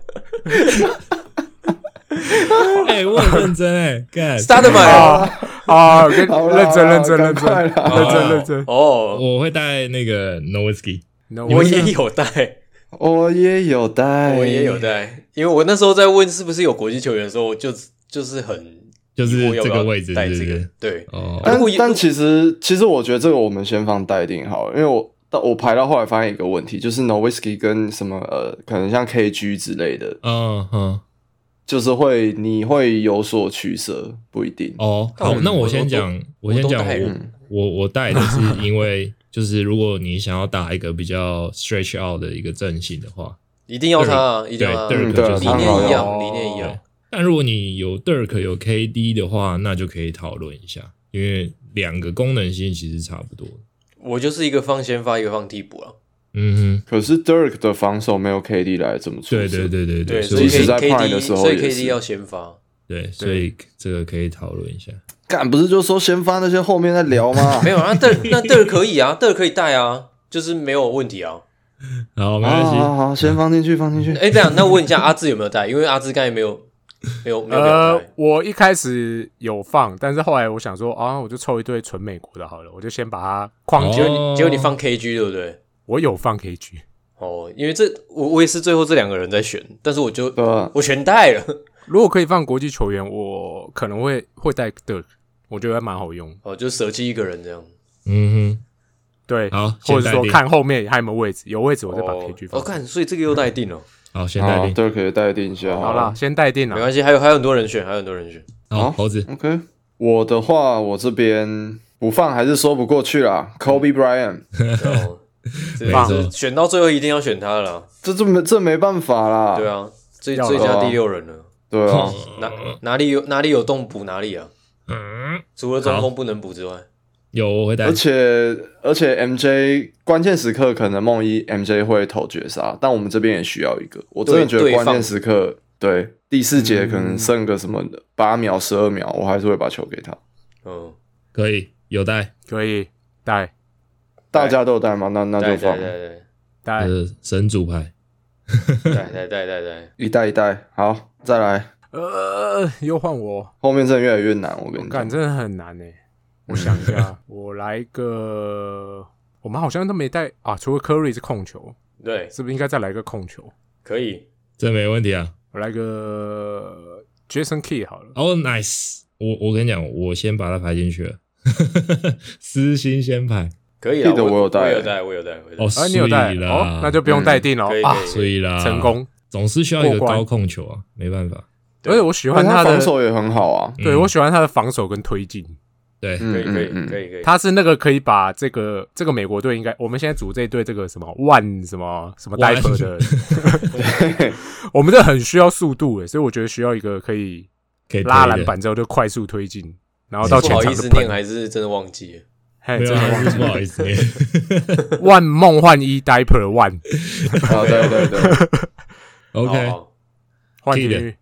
哎、欸，我很认真哎、欸，干 Start 买啊啊，认真认真认真快认真认真哦， 我会带那个 Nowitzki， 我也有带， 我也有带， 我也有带，因为我那时候在问是不是有国际球员的时候，就就是很就是这个位置带这个是不是， 对哦， 但如果但其实其实我觉得这个我们先放待定好了，因为我到我排到后来发现一个问题，就是 Nowitzki 跟什么呃，可能像 K G 之类的， 嗯哼。 就是会你会有所取舍，不一定哦。好，那我先讲，我先讲，我我我带的是因为就是如果你想要打一个比较 stretch out 的一个阵型的话， 一定要他、啊，一定要他， 对， 嗯、 就是理念一样，理念一样。 但如果你有 Dirk 有 K D 的话，那就可以讨论一下，因为两个功能性其实差不多。 我就是一个放先发，一个放替补啊。 嗯哼， 可是 Dirk 的防守没有 K D 来这么出色。 对对对对对， 所以即使在 K Prime 的时候所以也 K 是 D 要先发。 对，所以这个可以讨论一下。 干不是就说先发那些后面再聊吗？ 没有啊，那那那可以啊，那可以带啊，就是没有问题啊。 好，没关系， 好好好，先放进去，放进去。 哎，这样，那问一下阿志有没有带？因为阿志刚才没有没有没有呃带。， 我一开始有放，但是后来我想说啊，我就凑一堆纯美国的好了，我就先把它框起来。 结果你结果你放 K G 对不对？ 我有放 K G。 哦，因为这我我也是最后这两个人在选，但是我就对啊， 我全带了。 如果可以放国际球员，我可能会会带 Dirk，我觉得蛮好用。 哦，就舍弃一个人这样。 嗯对， 好或者说先待定看后面还有没有位置，有位置我再把 K G 放。 哦，看，所以这个又待定了。 哼，好，先待定。 Dirk 可以待定一下。 好啦，先待定了。 没关系，还有还有很多人选，还有很多人选。 好，猴子， OK，我的话，我这边不放还是说不过去啦。Kobe Bryant， 哦，这没错个是选到最后一定要选他了啦。 这这没这没办法啦。 对啊，最要最佳啊第六人了。 对啊， 哪哪里有哪里有洞补哪里啊？ 嗯， 除了中锋不能补之外， 有我会带而。且而且 M J 关键时刻可能梦一 M J 会投绝杀，但我们这边也需要一个。我真的觉得对关键时刻，对第四节可能剩个什么八秒、十二秒，我还是会把球给他。 嗯， 可以有带， 可以带大家都有带吗？那那带就放带带带。 呃，神主牌。 带带带带带， 一带一带。好，再来， 呃，又换我， 后面真的越来越难。我跟你讲， 感真的很难诶。我想一下，我来一个，我们好像都没带啊，除了 Curry 是控球， 对， 是不是应该再来一个控球？ 可以。 这没问题啊。 我来个 Jason Kidd 好了。 哦、oh,，nice！我我跟你讲，我先把它排进去了，私心先排。 可以啊， 记得我有带我有带，我有带，我有带。 哦， 啊，你有带所以啦哦，那就不用待定了、啊可以可以， 所以啦， 成功。 总是需要一个过关高控球啊，没办法。 而且我喜因为他欢他的防守也很好啊。 对我喜欢他的防守跟推进， 对， 嗯可以可以嗯嗯可以可以。 他是那个可以把这个这个美国队应该我们现在组这一队这个什么万什么什么 diaper 的，我们这很需要速度诶，所以我觉得需要一个可以可以推的拉篮板之后就快速推进，然后到不好前场就喷意思念，。还是真的忘记了。 嘿， 没有啊， 真的忘记不好意思念。 万梦幻一 diaper 万啊，对对对， OK，nice。 好换体育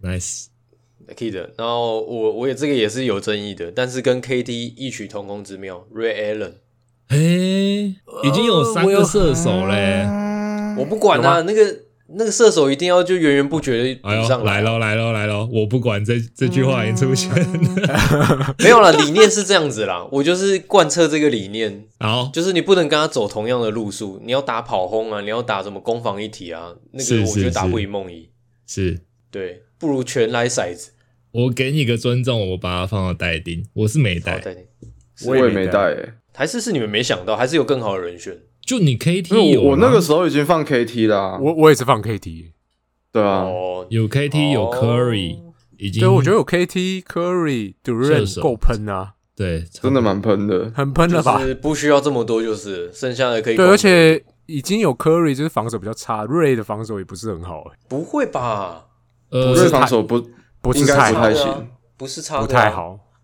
Kid，然后我我也这个也是有争议的，但是跟 K D 异曲同工之妙 ，Ray Allen， 哎，已经有三个射手嘞。 我不管啊，那个那个射手一定要就源源不绝的哎呦， 补上来喽来喽来喽！我不管这这句话已经出现了。 没有啦，理念是这样子啦，我就是贯彻这个理念， 好， 就是你不能跟他走同样的路数，你要打跑轰啊，你要打什么攻防一体啊，那是个我觉得是是打不赢梦一， 是对，不如全来骰子。 我给你一个尊重，我把它放到待定。我是没好， 带， 带你， 我也没带诶。 还是是你们没想到，还是有更好的人选。 就你 K 因 T 为有吗我我那个时候已经放 K T 啦。 我我也是放 K T， 对啊， 哦， 有 K T 有哦 Curry，已经对我觉得有 K T Curry 射 Durant 手够喷啊， 对真的蛮喷的。 很喷了吧？ 就是不需要这么多，就是剩下的可以对， 管而且已经有 Curry 就是防守比较差，Ray 的防守也不是很好、欸， 不会吧？ 呃瑞防守不不是应该太好不太， 对啊行， 不是差的啊不太，好。 不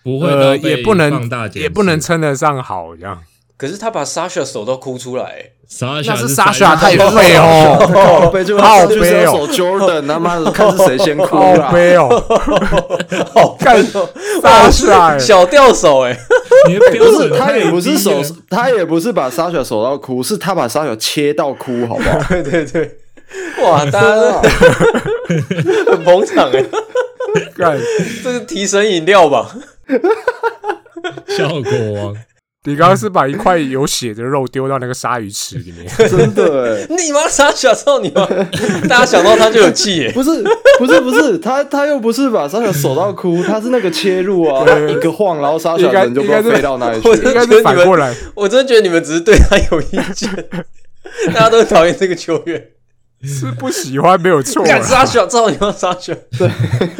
不会呃， 到被也不能放大检视也不能称得上好这样。 可是他把 Sasha 手都哭出来、欸， 那那是 Sasha Sasha 太废哦， 靠背就好就是悲哦要守 Jordan， 他妈的看是谁先哭好啦。 悲哦， 好干 Sasha 小吊手哎、欸， 你的标不准是，他也不是太手低了， 他也不是把 Sasha 守到哭，是他把 Sasha 切到哭，好不好？ 对对对，哇，大家都很捧场哎、欸， 干， 这是提神饮料吧？ 效果王。 你刚刚是把一块有血的肉丢到那个鲨鱼池里面， 真的哎， 你妈傻小少你妈！大家想到他就有气耶、 不是不是不是，他他又不是把 Sasha 守到哭，他是那个切入啊， 对一个晃，然后 Sasha 应该人就不知道飞到哪里去我了。 应该是反过来， 我真的觉得你们只是对他有意见，大家都很讨厌这个球员。 是不喜欢没有错干傻啦。 小，操你妈傻小！对，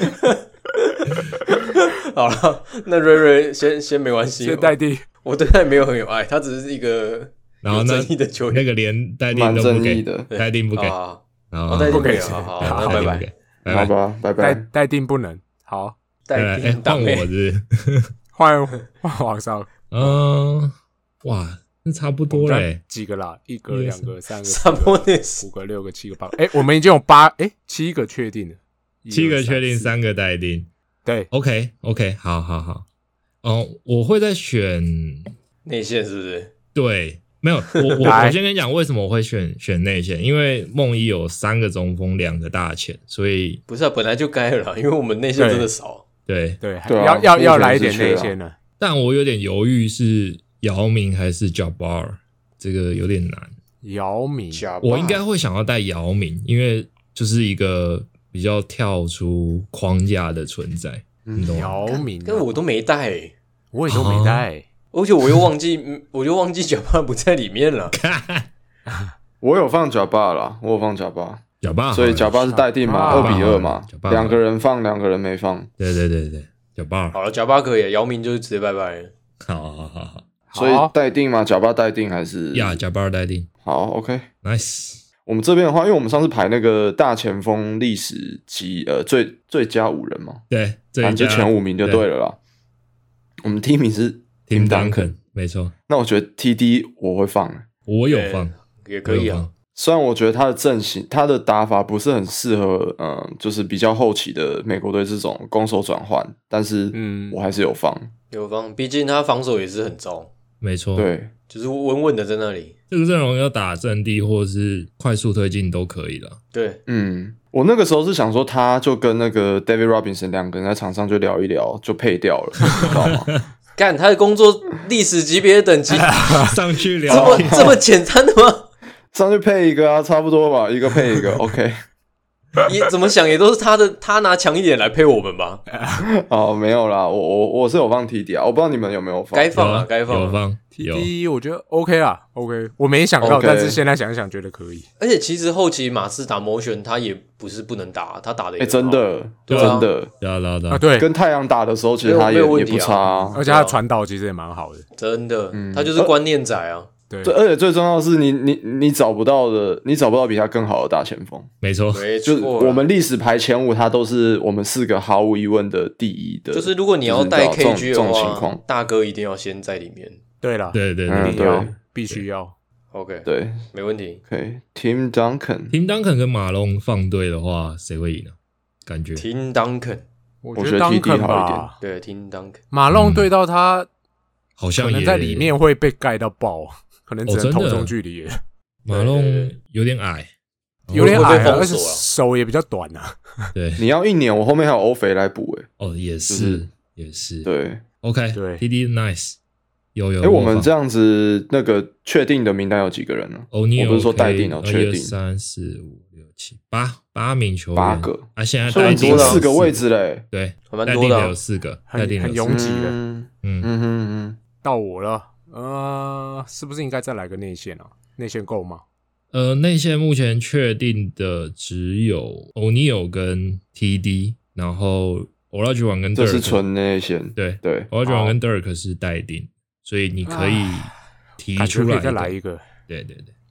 好了，那瑞瑞先先没关系， 先待定， 我对他也没有很有爱，他只是一个然后呢有争议的球员。 那个连戴定蛮都不给正义的， 戴定不给， 啊， 然后哦戴定不给好好， 好那拜拜戴定不给，拜拜。 好吧，拜待拜。 待定不能。好， 再来，哎，换我是不是， 换换王少， 嗯，哇，那差不多嘞， 几个啦？一个、 一个两个、三个、四萨博个、 内斯五个、六个、七个、八个。哎，我们已经有八哎七个确定了，一七个二确定， 四三个待定。 对， OK OK，好好好。哦，我会再选， 内线是不是？ 对，没有，我我来我先跟你讲为什么我会选选内线，因为梦一有三个中锋，两个大前，所以不是啊，本来就该了啦，因为我们内线真的少。 对， 对， 对啊要要要目前来一点是缺啊内线了。 但我有点犹豫是姚明还是 Jabbar， 这个有点难。 姚明， 假吧我应该会想要带姚明，因为就是一个比较跳出框架的存在，你懂吗？ 姚明啊， 但我都没带、欸， 我也都没带。 而且我又忘记，嗯我就忘记脚巴不在里面了。 我有放假巴啦，我有放假巴， 小巴， 所以假巴是待定嘛， 假巴二比二嘛假，巴两个人放，两个人没放， 对对对对，小巴， 好了，脚巴可以，姚明就是直接拜拜了。 好好好好， 所以好待定嘛，假巴待定还是呀，小巴待定好 OK。 ，nice， 我们这边的话，因为我们上次排那个大前锋历史级呃最最佳五人嘛， 对，这反一家正就前五名就对了啦。我们第一名是 Tim Tim Duncan， Duncan，没错， 那我觉得 T D 我会放， 我有放， 也可以啊我有放。 虽然我觉得他的阵型、他的打法不是很适合，嗯，就是比较后期的美国队这种攻守转换，但是嗯我还是有放。 有方，毕竟他防守也是很糟， 没错，， 对， 就是稳稳的在那里。 这个阵容要打阵地或是快速推进都可以了。 对， 嗯，我那个时候是想说，他就跟那个 David Robinson 两个人在场上就聊一聊，就配掉了，你知道吗？ 干他的工作历史级别的等级， 上去这么聊， 这么简单的吗？ 上去配一个啊，差不多吧，一个配一个，OK。 也怎么想也都是他的，他拿强一点来配我们吧。 哦，没有啦，我我我是有放 T D 啊，我不知道你们有没有放。 该放啊， 有该放啊。 有放，有 T D 我觉得 OK 啦 ，OK，我没想到， OK 但是现在想想觉得可以。 而且其实后期马刺打 motion，他也不是不能打，他打的也哎、 很好真的， 对啊真的， 啊， 要拉的， 对， 跟太阳打的时候，其实没有他也没有问题啊也不差、啊。 而且他传导其实也蛮好的。 真的， 嗯他就是观念仔啊。 对对，，而且最重要的是你，你你找不到的，你找不到比他更好的大前锋。 没错， 没就是错啦， 我们历史排前五，他都是我们四个毫无疑问的第一的。 就是如果你要带就是你知道 K G 这种的这种情况话，大哥一定要先在里面。 对了， 对对对嗯一定要对， 必须要。 OK， 对没问题。 ，OK，Tim Duncan， ，Tim Duncan 跟马龙放对的话，谁会赢呢？感觉听 Duncan， 我我觉得 T D Duncan 好一点吧， 对，听 Duncan。 马龙对到他， 好像也可能在里面会被盖到爆，可能只能哦真的投中距离了， 马龙有点矮， 有点矮啊， 会被封而且锁啊手也比较短啊。 对， 你要一年，我后面还有欧肥来补诶、 哦，也是也是， 对， ，OK， 对 ，T D nice，有有， 哎、我们这样子那个确定的名单有几个人呢？ 欧尼尔我不是说待定哦， 一二确定三四五六七八八名球员， 八个啊，现在所以已经待定了四个位置嘞、 对， 还蛮多的啊待定的有四个， 很待定的有四个很拥挤的嗯嗯， 嗯哼嗯到我了，呃，是不是应该再来个内线啊？内线够吗？ 呃，内线目前确定的只有欧尼尔跟 T D，然后 Olajuwon 跟哼，这 Dirk 是纯内线。 对对， ，Olajuwon 跟 Dirk 是待定，所以你可以提感觉可以出来一个再来一个。 对对对，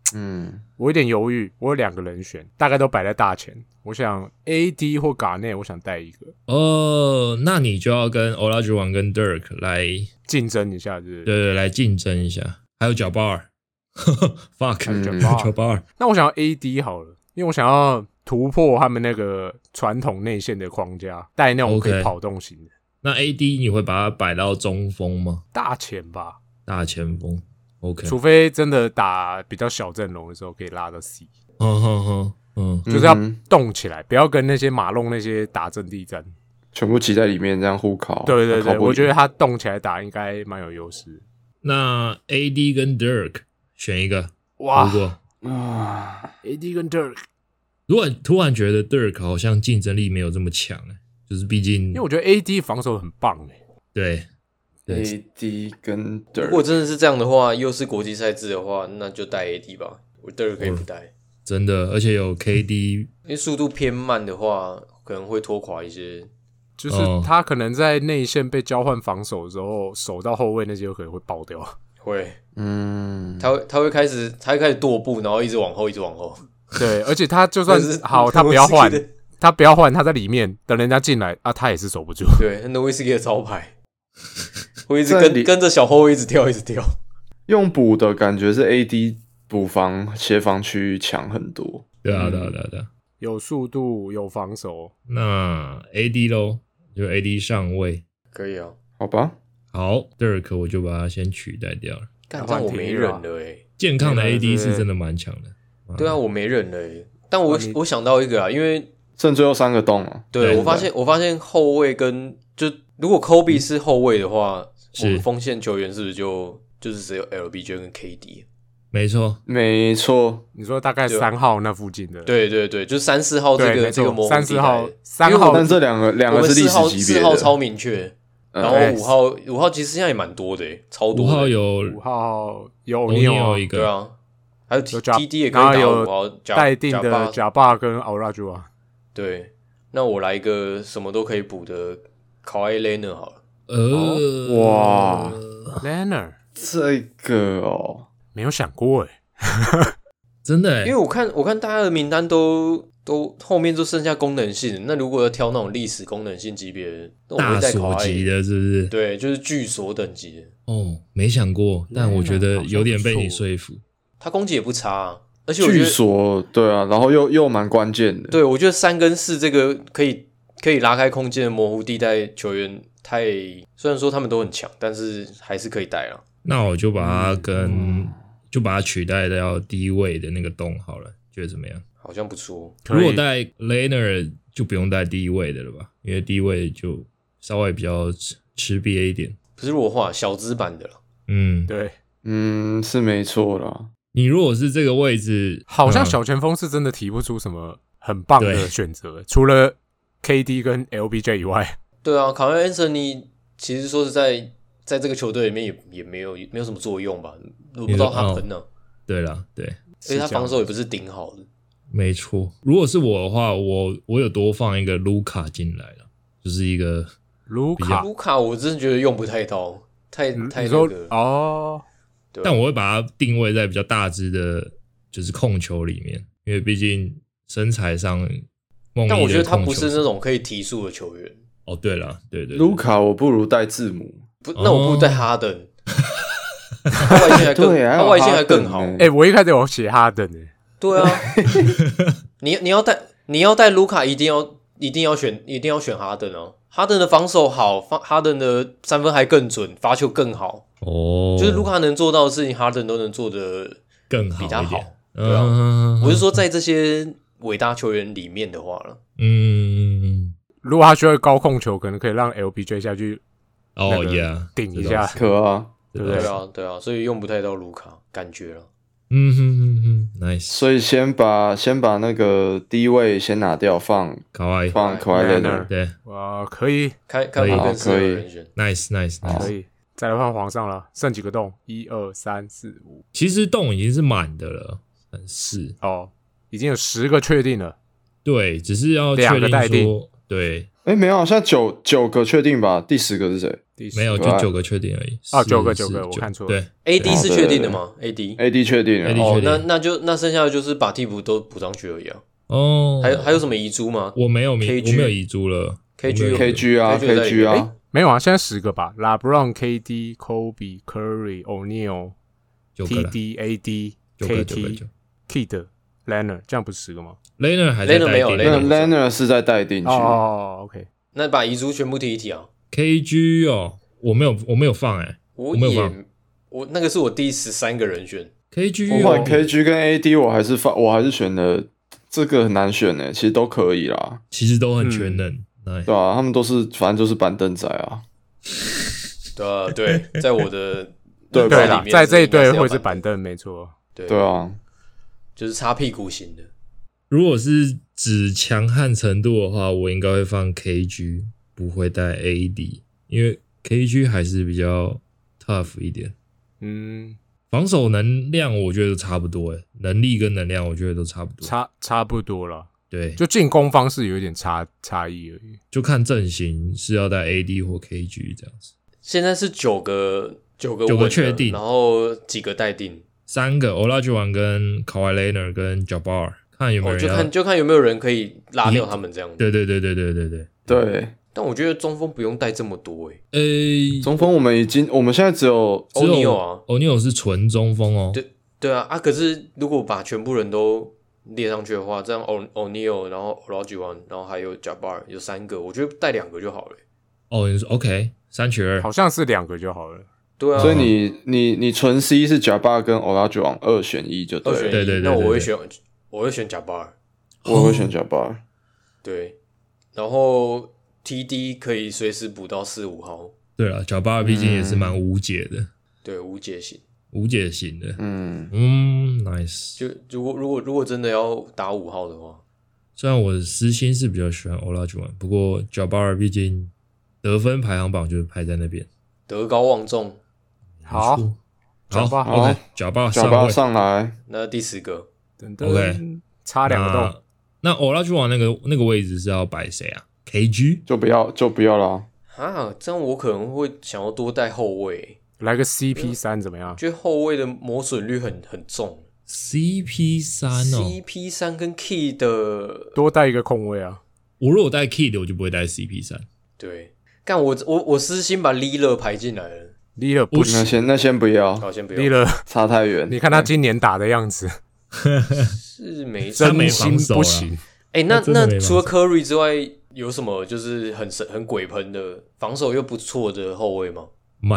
嗯， 我有点犹豫，我有两个人选，大概都摆在大前。我想 A D 或 Garnett， 我想带一个。 哦，那你就要跟 Olajuwon 跟 Dirk 来竞争一下，对不对？ 对对，来竞争一下。还有脚巴尔，fuck， 还有脚巴尔脚巴尔。 那我想要 A D 好了，因为我想要突破他们那个传统内线的框架，带那种可以 OK 跑动型的。 那 A D 你会把它摆到中锋吗？ 大前吧， 大前锋 ，OK。 除非真的打比较小阵容的时候，可以拉到 C。 嗯哼哼，嗯， 就是要嗯动起来，不要跟那些马龙那些打阵地战。 全部挤在里面这样互考。 对对对， 考不赢我觉得他动起来打应该蛮有优势。 那 A D 跟 Dirk 选一个。 哇如果啊， ，A D 跟 Dirk， 如果突然觉得 Dirk 好像竞争力没有这么强，就是毕竟因为我觉得 A D 防守很棒诶。 对对 A D 跟如 Dirk， 果真的是这样的话，又是国际赛制的话，那就带 A D 吧。我 Dirk 可以不带， 真的，而且有 K D， 因为速度偏慢的话，可能会拖垮一些。 就是哦他可能在内线被交换防守的时候，守到后卫那些有可能会爆掉。 会， 嗯， 他会他会开始他会开始跺步，然后一直往后，一直往后。 对，而且他就算但是好，他不要换诺维斯基的， 他不要换，他在里面等人家进来啊，他也是守不住。 对，诺维斯基的招牌，会一直在里跟跟着小后卫一直跳，一直跳。 用补的感觉是 A D 补防协防区强很多。 对啊对啊对啊对啊。 有速度，有防守。 那 A D 咯，就 A D 上位。 可以啊， 好吧， 好 ，Dirk 我就把它先取代掉了。 干这样我没人了诶、 健康的 A D 对对对是真的蛮强的。 对啊，我没人了诶、但我、 啊你我想到一个啊，因为剩最后三个洞了。 对对我发现我发现后卫跟就如果 Kobe 是后卫的话， 是我们锋线球员是不是就就是只有 L B J 跟 K D？ 没错， 没错， 你说大概对啊三号那附近的， 对对对，就是三四号这对，没错个这个模糊三四号地带， 三号但这两个两我们个是历四号史级别的。 四号超明确， 嗯然后对五号五号其实现在也蛮多的诶，超多五的号有五号有欧 o 尼 n 尔一个， 对啊，还有 T 有贾 T D 也可以打然后有五号假待定的假八贾巴跟奥拉朱啊， 对，那我来一个什么都可以补的 Kawhi Leonard 好了。 呃， 哇 Leonard 这个哦， 没有想过哎， 真的欸， 因为我看我看大家的名单都都后面就剩下功能性，那如果要挑那种历史功能性级别的，那我大会带锁 Kawhi 级的，是不是？ 对，就是巨锁等级的， 哦，没想过，但我觉得有点被你说服。 他攻击也不差、啊，而且我觉据得， 说对啊，然后又又蛮关键的。 对我觉得三跟四这个可以可以拉开空间的模糊地带球员太，虽然说他们都很强，但是还是可以带了。 那我就把它跟、就把它取代掉低位的那个洞好了，觉得怎么样？ 好像不错， 可以如果带 Leonard 就不用带低位的了吧，因为低位就稍微比较吃吃瘪一点。 可是如果画小资版的了， 嗯， 对， 嗯，是没错啦。 你如果是这个位置，嗯好像小前锋是真的提不出什么很棒的对选择，除了 K D 跟 L B J 以外， 对啊，卡梅 Anthony 其实说实在，在这个球队里面也也没有没有什么作用吧，我不知道他喷呢、啊， 对啦，对， 而且他防守也不是顶好的。 没错。如果是我的话，我我有多放一个卢卡进来了，就是一个卢卡比较， 卢卡我真的觉得用不太到，太太那你说个， 哦， 对吧但我会把它定位在比较大只的，就是控球里面，因为毕竟身材上，梦但我觉得他控球不是那种可以提速的球员。 哦，对了，对对对卢卡我不如带字母， 不，那我不如带哈登，他外线还更， 对，还有他外线还更好哈。登呢哎，我一开始有写哈登诶， 对啊，你你要带你要带卢卡，一定要一定要选一定要选哈登哦。哈登的防守好，哈登的三分还更准，罚球更好。 哦， 就是卢卡能做到的事情，哈登都能做的更好比他好一点。。 对啊， 嗯， 我是说在这些伟大球员里面的话了。 嗯， 如果他需要高控球，可能可以让 L B J 下去哦那个 ，yeah， 顶一下， 可啊， 对不对？ 对啊，对啊，所以用不太到卢卡，感觉了。 嗯哼哼哼，nice， 所以先把先把那个低位先拿掉，放卡哇伊， 放 k a w i Leonard 对哇，可以， 看看我更适合的人选。 ，nice nice 可 nice。 以，再来换皇上了，剩几个洞？一二三四五， 其实洞已经是满的了，很是哦，已经有十个确定了。 对，只是要确两个待定定说，对， 哎，没有，现在九九个确定吧？第十个是谁？ 没有，就九个确定而已。 哦，九个九个，我看错了。 对 ，A D 是确定的吗 ？A D A D 确定了。 哦，那那就那剩下的就是把替补都补上去而已啊。 哦， 还有还有什么遗珠吗？ 我没有名， K G 我没有遗珠了。 K G K G 啊 ，K G 啊， 没有啊，现在十个吧 ，LeBron、K D、Kobe、Curry、O'Neal、T D、A D、K T、Kid、Leonard， 这样不是十个吗 ？Leonard 还在 Leonard 没有 ，Leonard 是在待定区。 哦 ，OK， 那把遗珠全部提一提啊。 K G 哦，我没有，我没有放哎、欸， 我我没有放， 我那个是我第十三个人选。 K G 哦 ，K G 跟 A D 我还是放，我还是选的这个很难选诶，其实都可以啦， 其实都很全能， 嗯、 对啊，他们都是反正就是板凳仔啊。 对啊，对，在我的对对啦，在这一队会是是板凳，没错。 对对啊， 就是擦屁股型的。 如果是指强悍程度的话，我应该会放 K G， 不会带 A D， 因为 K G 还是比较 tough 一点。 嗯， 防守能量我觉得都差不多诶，能力跟能量我觉得都差不多， 差差不多了。 对， 就进攻方式有一点差差异而已， 就看阵型是要带 A D 或 K G 这样子。 现在是九个九个九个确定， 然后几个待定， 三个 Olajuwon 跟 Kawhi Leonard 跟 Jabbar， 看有没有人、 哦、就看就看有没有人可以拉掉他们这样。 对对对对对对对对。 但我觉得中锋不用带这么多诶、 欸。呃， 中锋我们已经我们现在只有 O'Neal 啊 ，O'Neal 是纯中锋哦。 对对啊啊！可是如果把全部人都列上去的话，这样 O'Neal， 然后 Olajuwon， 然后还有 Jabbar 有三个，我觉得带两个就好了、欸。 哦，你说 OK， 三取二， 好像是两个就好了。 对啊， 所以你你你纯 C 是 Jabbar 跟 Olajuwon 二选一就对了。 二选一， 对对对对对， 那我会选我会选 Jabbar， 我会选 Jabbar。 对，然后 T D 可以随时补到四五号。 对了 ，Jabbar 毕竟也是蛮无解的， 嗯、对，无解型， 无解型的。 嗯嗯 ，nice。 就如果如果如果真的要打五号的话， 虽然我私心是比较喜欢 Olajuwon， 不过 Jabbar 毕竟得分排行榜就是排在那边， 德高望重。 好， 好 ，OK，Jabbar 上位上来。 那第十个等等 ，OK， 差两个洞。 那 Olajuwon 那个那个位置是要摆谁啊 ？K G 就不要就不要啦。 啊，这样我可能会想要多带后卫， 来个 C P 三怎么样？ 觉得后卫的磨损率很很重。 C P 三 哦 ，C P 三跟 Key 的多带一个控卫啊。 我如果带 Key 的，我就不会带 C P 三。 对，干我我我私心把 Lillard 排进来了。 Lillard 不行， 那先那先不要， 好，先不要。 Lillard 差太远。 你看他今年打的样子， 是没真真心不行。 哎、欸，那那除了 Curry 之外，有什么就是很神很鬼喷的防守又不错的后卫吗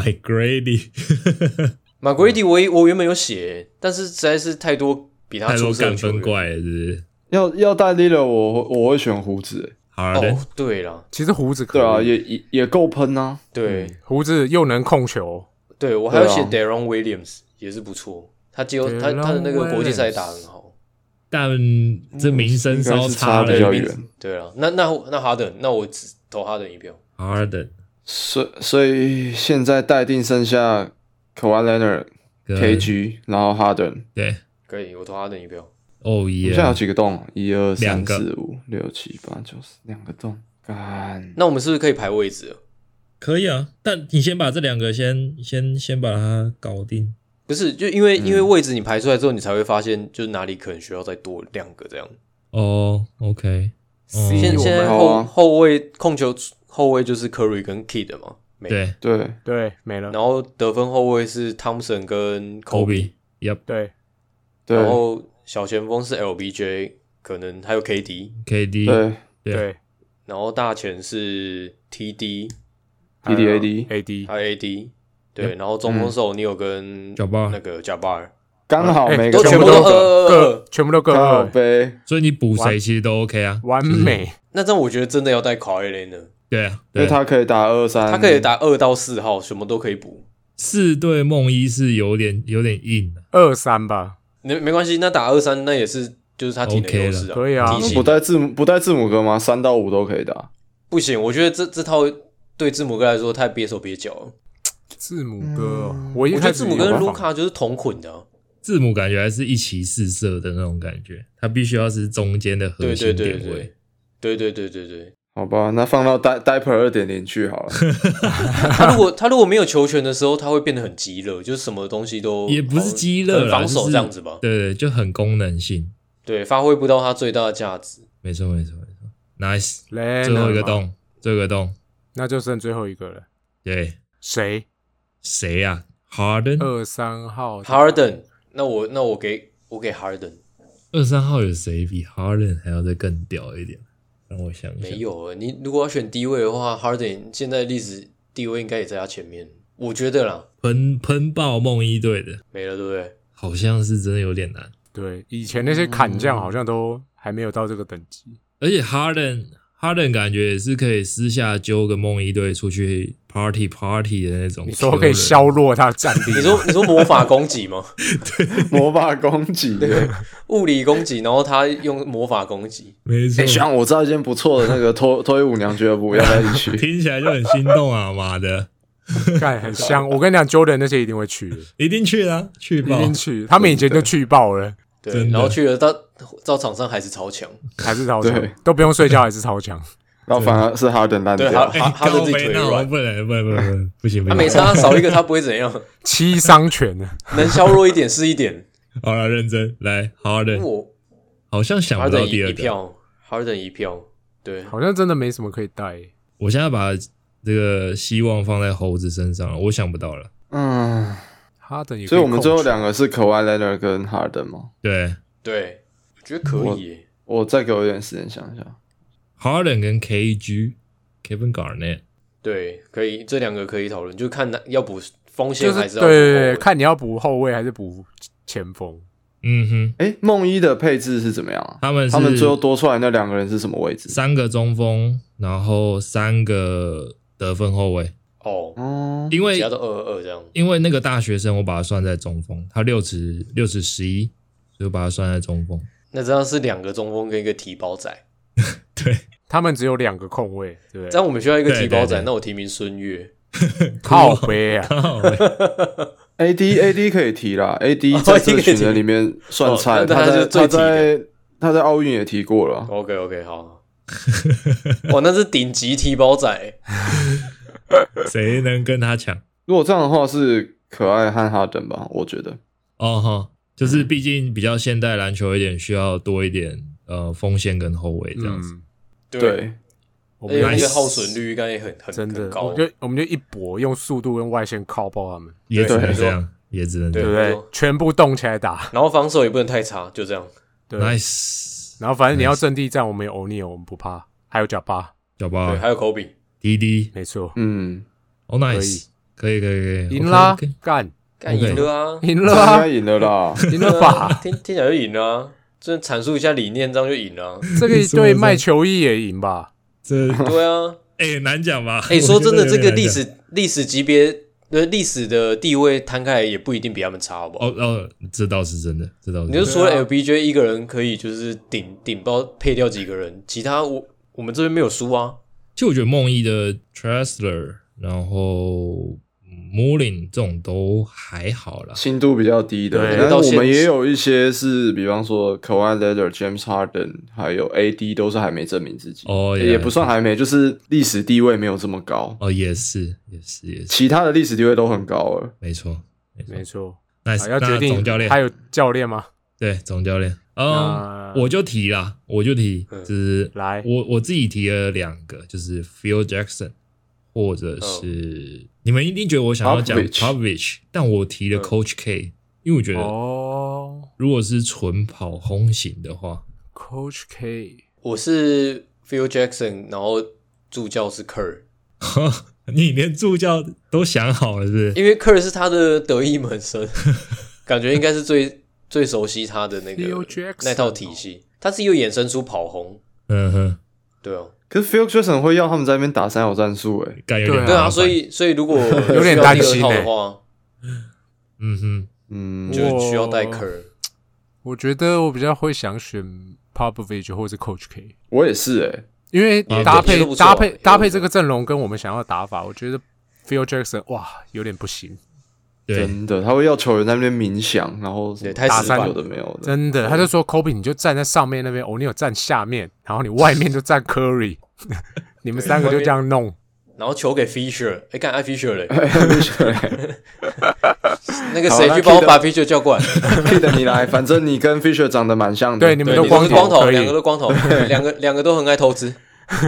？McGrady，McGrady 我我原本有写，但是实在是太多比他出色的球员， 太多干分怪了，是不是？ 要要带 Lillard， 我我会选胡子。 好的， 哦，对啦， 其实胡子可以对啊，也也也够喷啊。 对、 嗯，胡子又能控球。 对我还有写 Deron Williams 也是不错，他结果他他的那个国际赛打很好， 但这名声稍差比较远。 对啊，那那那哈登，那我只投哈登一票。 哈登， 所所以现在待定剩下 Kawhi Leonard、K G， 然后哈登。 对， 可以，我投哈登一票。 哦耶！ 现在有几个洞？一二三四五六七八九十，两个洞。干， 那我们是不是可以排位置了？ 可以啊，但你先把这两个先先先把它搞定。 不是，就因为、嗯、因为位置你排出来之后，你才会发现就是哪里可能需要再多两个这样。 哦 ，OK， 哦、现现在后、啊、后卫控球后卫就是 Curry 跟 Kid 嘛， 对对对，没了。 然后得分后卫是 Thompson 跟 Kobe，Yep， 对对。 然后小前锋是 L B J， 可能还有 K D，K D， 对对。 然后大前是 T D。 T D A D A D 还有 A D， 对，然后中锋是 O'Neal 跟那个 Jabbar， 刚好每个都全部都各全部都各二杯， 所以你补谁其实都 OK 啊， 完美。 那这样我觉得真的要带 Kawhi Leonard， 对啊， 因为他可以打二三， 他可以打二到四号，什么都可以补。 四对梦一是有点有点硬的， 二三吧， 没没关系，那打二三那也是就是他体能优势啊， 可以啊， 不带字母不带字母哥吗？三到五都可以打， 不行，我觉得这这套。对字母哥来说太憋手憋脚了。 字母哥， 嗯、 我一我觉得字母跟卢卡就是同捆的、啊。 字母感觉还是一骑四射的那种感觉，他必须要是中间的核心点位。 对对对对对对对对对。 好吧，那放到 Diaper 二点零 去好了。 他如果他如果没有球权的时候，他会变得很激烈，就是什么东西都也不是激烈啦， 防守这样子吧？ 对对，就很功能性， 对，发挥不到他最大的价值。 没错没错没错 ，nice， Leonard 最后一个洞，最后一个洞， 那就剩最后一个了。 对， 谁？ 谁呀、啊、？Harden， 二三号 Harden， 那我那我给我给 Harden。 二三号有谁比 Harden 还要再更屌一点？让我想一下。 没有，你如果要选低位的话 ，Harden 现在历史地位应该也在他前面，我觉得啦。 喷喷爆梦一队的没了，对不对？ 好像是真的有点难。 对，以前那些砍将好像都还没有到这个等级。 而且 Harden Harden 感觉也是可以私下揪个梦一队出去 party party 的那种。 你说可以削弱他的战力？ 你说你说魔法攻击吗？ 对，魔法攻击， 对，物理攻击，然后他用魔法攻击。 没错。 哎、欸，像我知道一间不错的那个脱脱衣舞娘俱乐部，要不要一起去？ 听起来就很心动啊！妈的， 干很香。我跟你讲 ，Jordan 那些一定会去的， 一定去啦，去爆， 一定去。他们以前就去爆了。 对，然后去了到到场上还是超强， 还是超强，都不用睡觉还是超强。 然后反而是哈登烂掉， 对，哈哈哈登自己腿软， 不能，不能，不能，不行，不行。 他没差，少一个他不会怎样， 七伤拳呢， 能削弱一点是一点。 好了，认真来，哈登， 我好像想不到第二个， 一票，哈登一票，对， 好像真的没什么可以带。 我现在把这个希望放在猴子身上了，我想不到了。 嗯， 哈登也， 所以我们最后两个是Kawhi Leonard跟哈登吗？ 对， 对，我觉得可以耶。 我再给我一点时间想一下。 Harden 跟 K G Kevin Garnett， 对，可以，这两个可以讨论，就看要补锋线还是要补后卫， 对对对，看你要补后卫还是补前锋。 嗯哼， 哎，梦一的配置是怎么样啊？ 他们是他们最后多出来那两个人是什么位置？ 三个中锋，然后三个得分后卫。 哦， 哦， 因为其他都二二二这样。 因为那个大学生，我把他算在中锋，他六尺六尺十一，所以我把他算在中锋。 那这样是两个中锋跟一个提包仔。 对， 他们只有两个控位，对不对？ 这样我们需要一个提包仔， 对对对那我提名孙悦。 靠背啊靠北 A D A D 可以提啦 ，A D 在这群人里面算菜， 哦那他在他就最他提的在他在奥运也提过了。 OK OK， 好。哇，那是顶级提包仔。 谁能跟他抢？ 如果这样的话，是可爱和哈登吧？我觉得。 哦哈，就是毕竟比较现代篮球一点，需要多一点呃锋线跟后卫这样子。 嗯， 对， 我们而且那个耗损率应该也很很真的很，高， 我就我们就一搏，用速度跟外线靠爆他们， 也只能对这样，也只能这对样。 对不对？全部动起来打， 然后防守也不能太差，就这样。 对。 Nice， 然后反正你要阵地战，我们有欧尼尔，我们不怕，还有贾巴， 对， 小包还有科比。 滴滴， 没错， 嗯， 哦 nice，可以可以可以， 赢啦 OK，OK， 干干赢了啊， 赢了啊这应该，赢了啦。 赢了吧？ 听听起来就赢了啊，这阐述一下理念，这样就赢了啊。 这个对卖球衣也赢吧？ 这对啊， 哎难讲吧？ 哎，说真的，这个历我觉得有点难讲史历史级别的历史的地位摊开来，也不一定比他们差，好不好？ 哦哦，这倒是真的，这倒是你真的。 就除了 L B J 一个人可以就是顶顶包配掉几个人，其他我我们这边没有输啊。 就我觉得梦一的 Tressler，然后 Mullin 这种都还好啦。 心度比较低的， 对但是到现我们也有一些是，比方说 Kawhi Leonard、James Harden 还有 A D 都是还没证明自己， 哦， 也不算还没，就是历史地位没有这么高。 哦，也是也是也是， 其他的历史地位都很高了。 没错没错。 没错， Nice， 啊要决那总定教练还有教练吗？ 对总教练，嗯那， 我就提啦，我就提， 嗯就是来我我自己提了两个，就是 Phil Jackson，或者是、你们一定觉得我想要讲 Popovich Popovich， 但我提了嗯 Coach K，、因为我觉得哦如果是纯跑轰型的话， ，Coach K， 我是 Phil Jackson，然后助教是 Kerr， 你连助教都想好了是不是？ 因为 Kerr 是他的得意门生，感觉应该是最最熟悉他的那个 Phil Jackson 那套体系。他是又衍生出跑轰， 嗯哼， 对啊， 可是 Phil Jackson 会要他们在那边打三角战术，哎， 感觉有点对啊， 麻烦所以所以如果有点担心需要第二套欸的话， 嗯哼， 嗯， 就需要带我 Kerr。 我觉得我比较会想选 Popovich 或者是 Coach K， 我也是，哎， 因为也搭配也都不错搭配也都不错搭配这个阵容跟我们想要的打法，我觉得 Phil Jackson 哇有点不行。 对， 真的，他会要球员在那边冥想，然后对太死板打有的没有的， 真的，他就说 Kobe 你就站在上面那边，哦，你有站下面，然后你外面就站 Curry， 你们三个就这样弄， 然后球给 Fisher， 哎，干爱 Fisher 嘞， Fisher 那个谁去帮我把 Fisher 叫过来 ，Kid 你来，反正你跟 Fisher 长得蛮像的， 对，你们对， 都光头， 你们光头， 可以两个都光头，两个两个都很爱投资。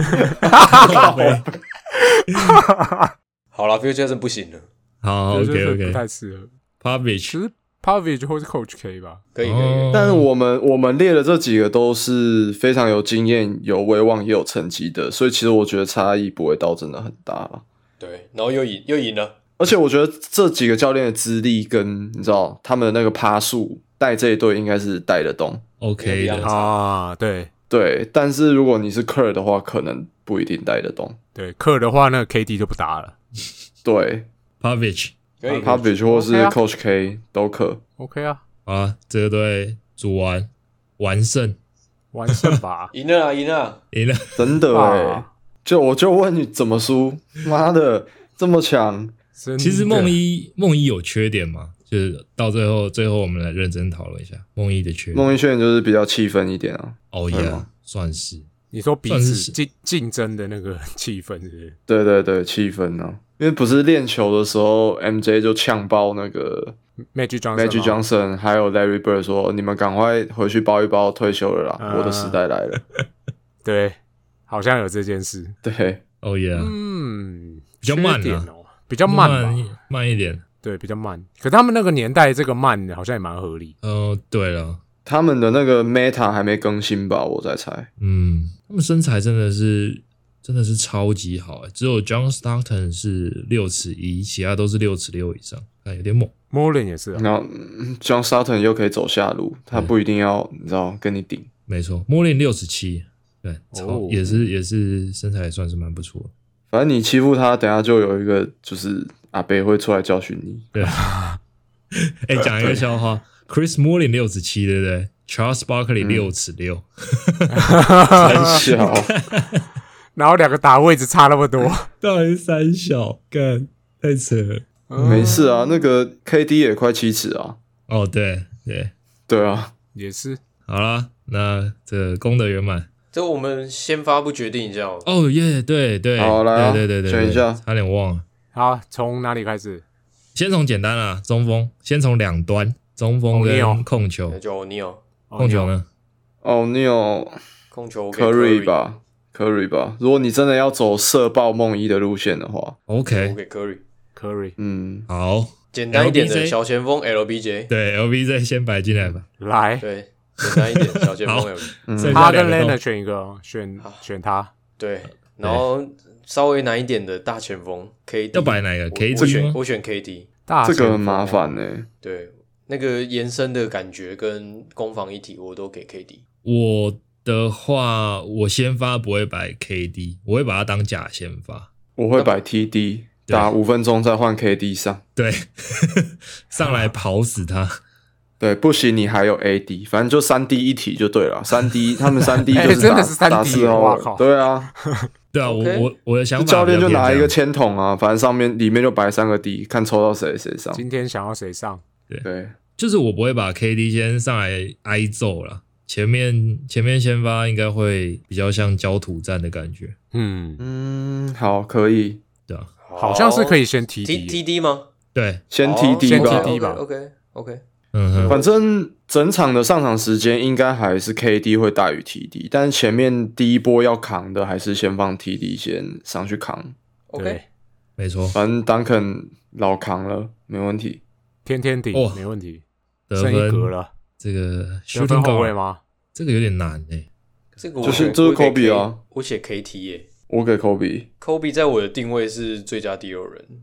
好了 ，Fisher 真不行了， 好对就是 ，OK 不 OK， 太适合。 Popovich 其实 Popovich 或是 Coach K 吧， 可以可以可以。 哦但我们我们列的这几个都是非常有经验、有威望也有成绩的，所以其实我觉得差异不会到真的很大了。 对，然后又赢又赢了， 而且我觉得这几个教练的资历跟你知道他们的那个趴数带这一队应该是带得动。 OK 的， 啊，对对，但是如果你是 Kerr 的话，可能不一定带得动。 对，克的话，那个 K D 就不打了。 对 Popovich 可以。 ，Popovich 或是 OK 啊 Coach K 都可。 OK 啊， 好啊，这个队组完完胜， 完胜吧赢了啦，赢了啦。 赢了。 真的哎、 啊就我就问你怎么输？妈的，这么强！ 真的其实梦一梦一有缺点嘛，就是到最后最后我们来认真讨论一下梦一的缺点。 孟一炫就是比较气愤一点啊。 哦呀对吗， 算是你说彼算是此竞竞争的那个气氛是不是？ 对对对，气氛啊，因为不是练球的时候 ，M J 就呛爆那个 Magic Johnson Magic 吗 Johnson 还有 Larry Bird 说：“你们赶快回去包一包，退休了啦， 嗯我的时代来了。 对，好像有这件事。” 对， 哦呀， 嗯， 比较慢啊缺点哦，比较慢吧？ 慢慢一点。 对，比较慢。可他们那个年代这个慢好像也蛮合理。 呃，对了， 他们的那个 Meta 还没更新吧？我在猜。 嗯，他们身材真的是真的是超级好欸，只有 John Stockton 是六尺一，其他都是六尺六以上，看有点猛。 Moreland 也是啊， 然后嗯 John Sutton 又可以走下路，他不一定要你知道跟你顶。 没错 m o r l i n 六尺七，对，超、 哦也是也是身材也算是蛮不错的。 反正你欺负他，等下就有一个就是阿北会出来教训你。 对，哎、讲一个笑话 ，Chris Mullin 六尺七，对不对 ？Charles Barkley 六尺六， 很小， 然后两个打位置差那么多， 到底是三小，干太扯了。 没事啊，那个 K D 也快七尺啊。 哦，对对， 对啊， 也是。 好啦，那这个功德圆满。 这我们先发布决定一下哦。 哦耶，对对， 好来啊对对对对， 选一下差点忘了。 好，从哪里开始？ 先从简单啦，中锋，先从两端，中锋跟 O'Neal 控球那，就 O'Neal 控球呢？ 哦，你有控球我给 Curry 吧？Curry 吧。如果你真的要走射爆梦一的路线的话， 我 ？OK， 给 Curry。 Curry 嗯， 好， 简单一点 L B J 的小前锋 L B J， 对 L B J 先摆进来吧。 来， 对，简单一点小前锋好 L B J， 嗯剩他跟下两个 Leonard 都选一个哦，选好选他。 对，然后稍微难一点的大前锋 K D， 要摆哪个我 K D 我选吗我选 K D， 大这个很前锋麻烦呢、 对，那个延伸的感觉跟攻防一体我都给 K D。 我的话，我先发不会摆 K D，我会把它当假先发。 我会摆 T D 对打五分钟再换 K D 上。 对，上来跑死他。 对，不行，你还有 A D，反正就三 D 一体就对了。三 D 他们三 D 哎就是打、 真的是 三 D 打四号位哇靠对啊， 对啊，我 OK 我我的想法， 教练就拿一个，签筒啊，反正上面里面就摆三个 D，看抽到谁谁上。 今天想要谁上？ 对， 就是我不会把 K D 先上来挨揍了。前面前面先发应该会比较像焦土战的感觉， 嗯， 嗯，好，可以对啊， 好像是可以先 T T D。 T D 吗？ 对， 先好 T D 先吧。 T D 吧 OK OK， 嗯哼， 反正整场的上场时间应该还是 K D 会大于 T D，但是前面第一波要扛的还是先放 T D 先上去扛。 OK， 对， 没错， 反正 Duncan 老扛了，没问题。 天天顶哇没问题， 得剩一格分了。 这个得 shooting 分后 guard 卫吗？ 这个有点难诶、 这个我就是选就是我给 Kobe 啊 K- 我写 K T 耶我给 Kobe， ，Kobe 在我的定位是最佳第六人，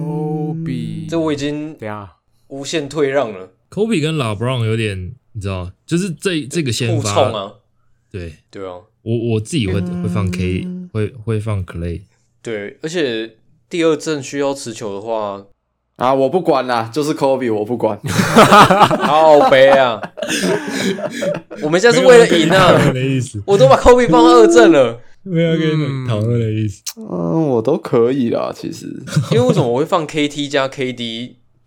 Kobe， 这我已经等一下无限退让了， Kobe 跟 LeBron 有点，你知道，就是这这个先互发， 冲啊， 对对啊， 我我自己会会放 K，会会放 Clay， 对，而且第二阵需要持球的话， 啊，我不管啦，就是 Kobe，我不管。 好悲啊！我们现在是为了赢没有啊！ 的意思， 我都把 Kobe 放二阵了， 没有跟你们讨论的意思。 嗯，我都可以啦，其实。 因为为什么我会放 K T 加 K D？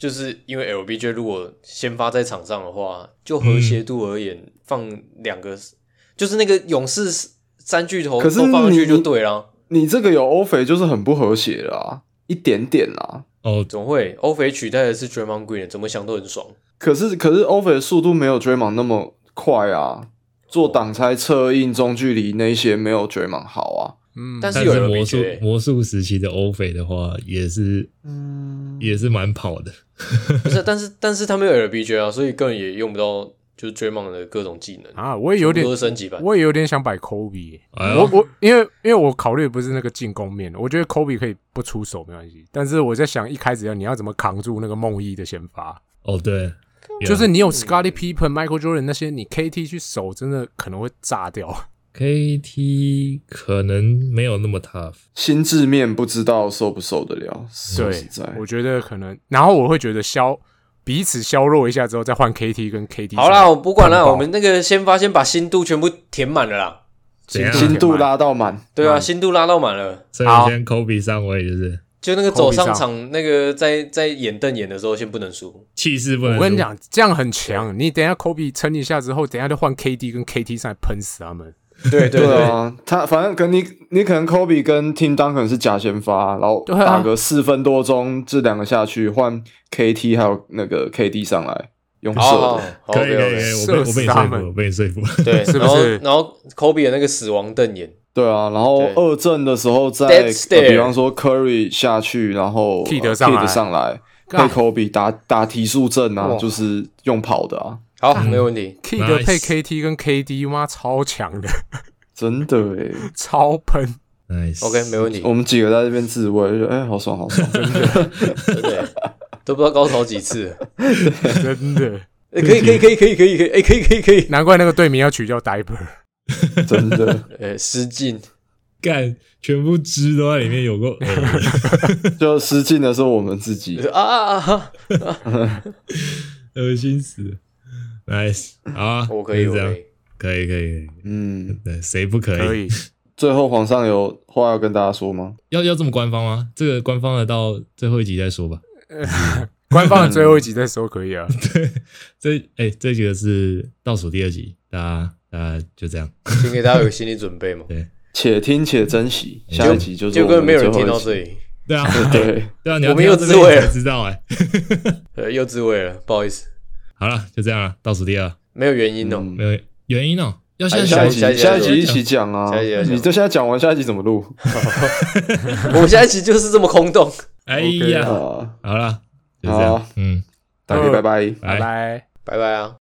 就是因为 L B J 如果先发在场上的话，就和谐度而言，嗯、放两个就是那个勇士三巨头都放上去就对了。 你这个有欧肥就是很不和谐啦，一点点啦。 哦， 总会欧肥取代的是 Draymond Green， 怎么想都很爽。 可是可是欧肥的速度没有 Draymond 那么快啊，做挡拆、策应、中距离那些没有 Draymond 好啊。 嗯，但是有但是魔术 L B J 魔术时期的欧肥的话，也是嗯也是蛮跑的。 不是，但是但是他没有 L B J 啊，所以根本也用不到就是 Draymond 的各种技能啊。我也有点都是升级版， 我也有点想摆 Kobe，、欸哎、 我我因为因为我考虑的不是那个进攻面，我觉得 Kobe 可以不出手没关系，但是我在想一开始要你要怎么扛住那个梦一的先发。 哦，对， 就是你有 Scottie Pippen、Michael Jordan 那些，你 K T 去守真的可能会炸掉。 K T 可能没有那么 tough， 心智面不知道受不受得了。说实在， 我觉得可能，然后我会觉得消彼此削弱一下之后，再换 K T 跟 K D。 好啦，我不管了，我们那个先发先把心度全部填满了啦， 心度拉到满， 对啊，心度拉到满了。 所以先 Kobe 上位就是， 就那个走上场那个在在演瞪眼的时候，先不能输， 气势不能输。 我跟你讲，这样很强。你等一下 Kobe 撑一下之后，等一下就换 K D 跟 K T 上来喷死他们。 对对对啊，他反正跟你你可能 Kobe 跟 Tim Duncan 是假先发，然后打个四分多钟，这两个下去换 K T 还有那个 K D 上来用射的， 可以可以可以，我被我被你说服了，我被你说服了。 对， 是不是？ 然后 Kobe 的那个死亡瞪眼， 对啊，然后二阵的时候再、呃、比方说 Curry 下去，然后 Kid 上来， Kid 上来配 Kobe 打打提速阵啊，就是用跑的啊。 好，没问题。 Kid 配 K T 跟 K D 妈超强的， 真的诶， 超喷。 Nice， OK， 没问题。 我们几个在这边自慰，就哎、欸，好爽，好爽，真的， 真的都不知道高潮几次， 真的。 欸、可以可以可以可以可以可以，哎、欸，可以可以可以。 难怪那个队名要取叫 Diaper， 真的。 呃，失禁， 干，全部汁都在里面有过， 就失禁的是我们自己啊啊啊！ 恶心死了。Nice， 好啊， 我可以， 这样我可以， 可以，可以， 嗯， 对，谁不可以？ 可以。 最后皇上有话要跟大家说吗？ 要要这么官方吗？这个官方的到最后一集再说吧。 官方的最后一集再说可以啊。 对，这哎、欸，这个是倒数第二集，大家大家就这样， 请给大家有心理准备嘛。 对， 且听且珍惜，下一集就是就跟没有人听到这里。 对啊， 对对啊，你我们又自慰了， 知道哎、 欸，对，又自慰了，不好意思。 好了，就这样了，倒数第二， 没有原因哦、喔嗯， 没有原因哦、喔，要下下一集下一集下一集一起讲啊！ 下一集你这现在讲完，下一集怎么录？ 我们下一集就是这么空洞。 哎呀， okay, 好了，就这样，嗯， 大家拜拜， 拜拜， 拜拜啊。